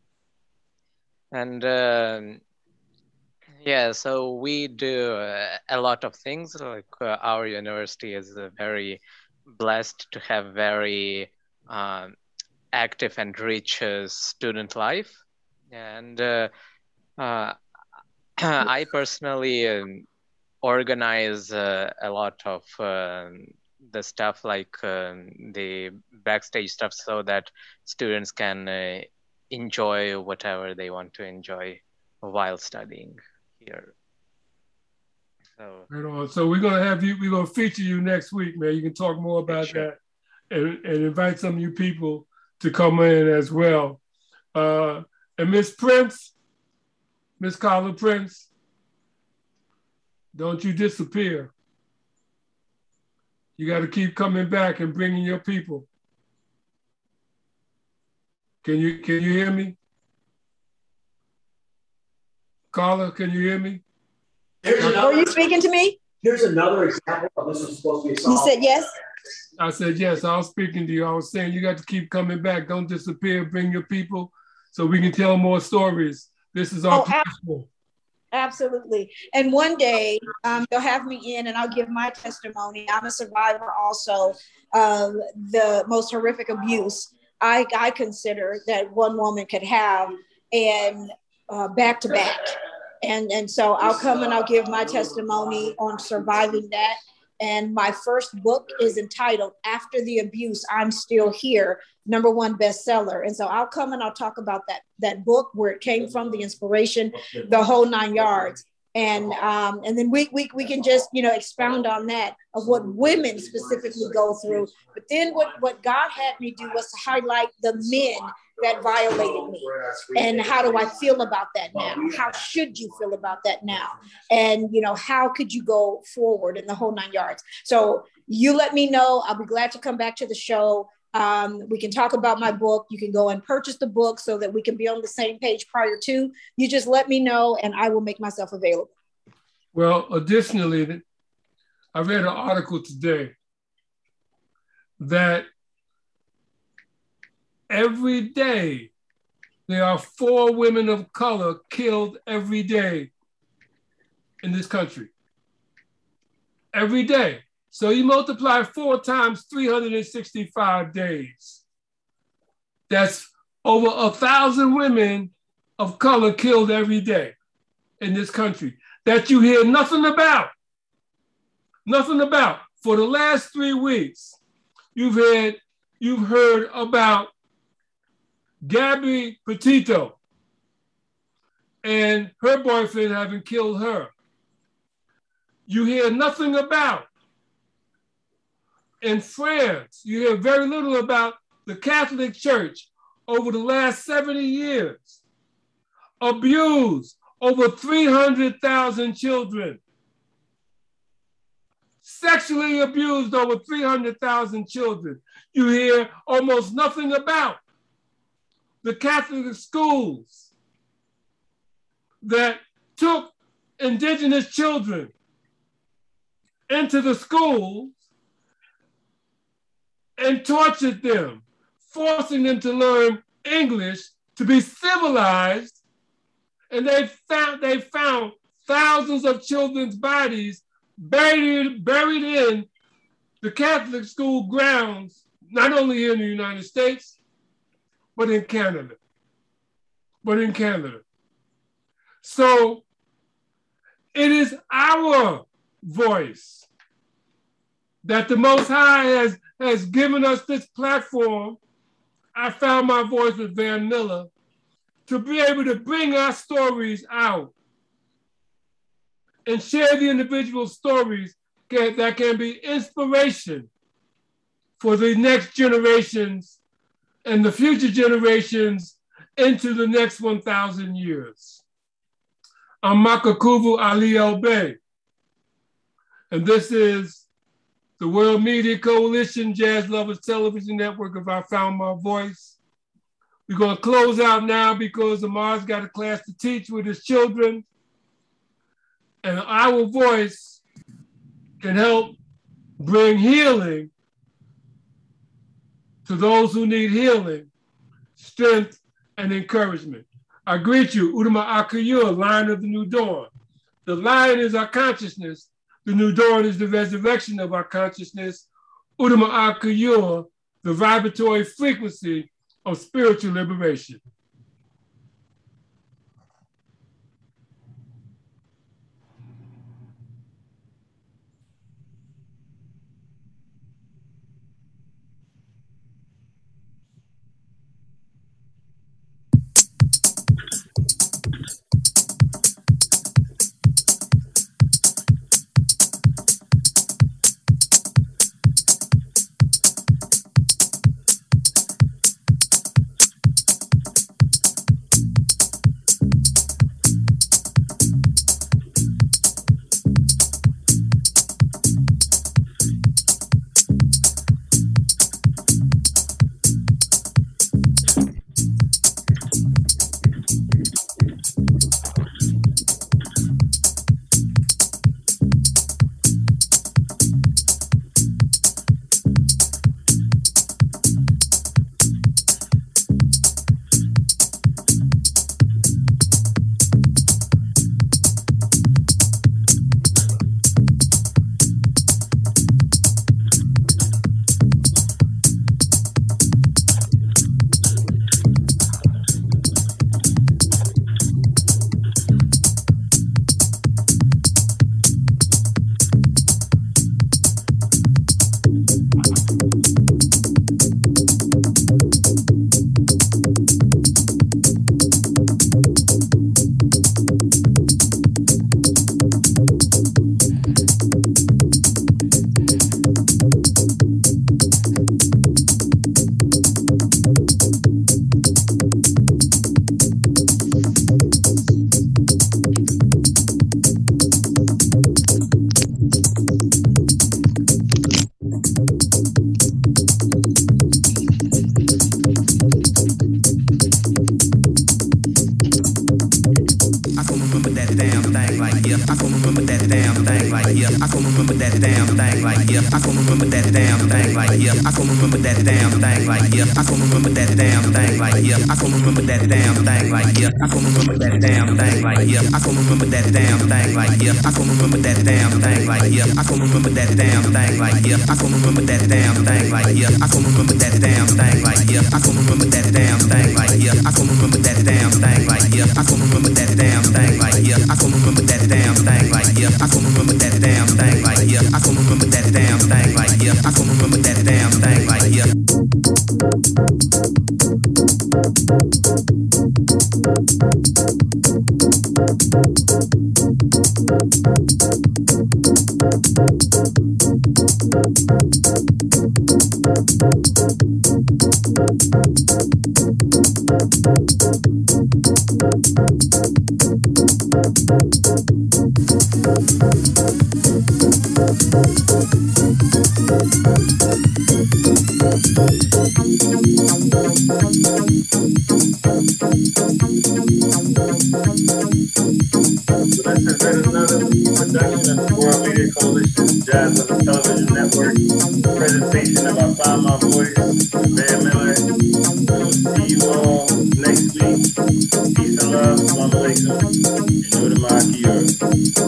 And uh, yeah, so we do uh, a lot of things. Like uh, our university is uh, very blessed to have very uh, active and rich uh, student life. And uh, uh, I personally um, organize uh, a lot of uh, the stuff like uh, the backstage stuff so that students can uh, enjoy whatever they want to enjoy while studying here. So, right on. So we're gonna have you, we're gonna feature you next week, man. You can talk more about sure. that and, and invite some of you people to come in as well. Uh, and Miss Prince, Miss Carla Prince, don't you disappear. You got to keep coming back and bringing your people. Can you can you hear me? Carla, can you hear me? Are you speaking to me? Here's another example of this was supposed to be a You said yes? I said yes, I was speaking to you. I was saying you got to keep coming back. Don't disappear, bring your people so we can tell more stories. This is our Oh, platform. Absolutely. And one day um, they'll have me in and I'll give my testimony. I'm a survivor also of the most horrific abuse I, I consider that one woman could have, and uh, back to back. And, and so I'll come and I'll give my testimony on surviving that. And my first book is entitled After the Abuse, I'm Still Here, number one bestseller. And so I'll come and I'll talk about that, that book, where it came from, the inspiration, the whole nine yards. And um, and then we, we, we can just, you know, expound on that, of what women specifically go through. But then what, what God had me do was to highlight the men that violated me. And how do I feel about that now? How should you feel about that now? And, you know, how could you go forward in the whole nine yards? So you let me know. I'll be glad to come back to the show. Um, we can talk about my book. You can go and purchase the book so that we can be on the same page prior to. You just let me know and I will make myself available. Well, additionally, I read an article today that every day there are four women of color killed every day in this country. Every day. So you multiply four times three hundred sixty-five days. That's over a thousand women of color killed every day in this country that you hear nothing about. Nothing about. For the last three weeks, you've heard, you've heard about Gabby Petito and her boyfriend having killed her. You hear nothing about. In France, you hear very little about the Catholic Church over the last seventy years. Abused over three hundred thousand children. Sexually abused over three hundred thousand children. You hear almost nothing about the Catholic schools that took indigenous children into the schools and tortured them, forcing them to learn English to be civilized. And they found, they found thousands of children's bodies buried, buried in the Catholic school grounds, not only here in the United States, but in Canada, but in Canada. So it is our voice that the Most High has, has given us this platform. I found my voice with Van Miller to be able to bring our stories out and share the individual stories can, that can be inspiration for the next generations and the future generations into the next one thousand years. I'm Makakuvu Ali El Bey, and this is the World Media Coalition Jazz Lovers Television Network of I Found My Voice. We're gonna close out now because Amar's got a class to teach with his children, and our voice can help bring healing to those who need healing, strength, and encouragement. I greet you, Udama Akuyur, Lion of the New Dawn. The lion is our consciousness. The new dawn is the resurrection of our consciousness. Udama Akuyur, the vibratory frequency of spiritual liberation.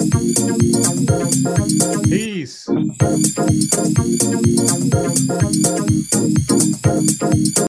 Peace.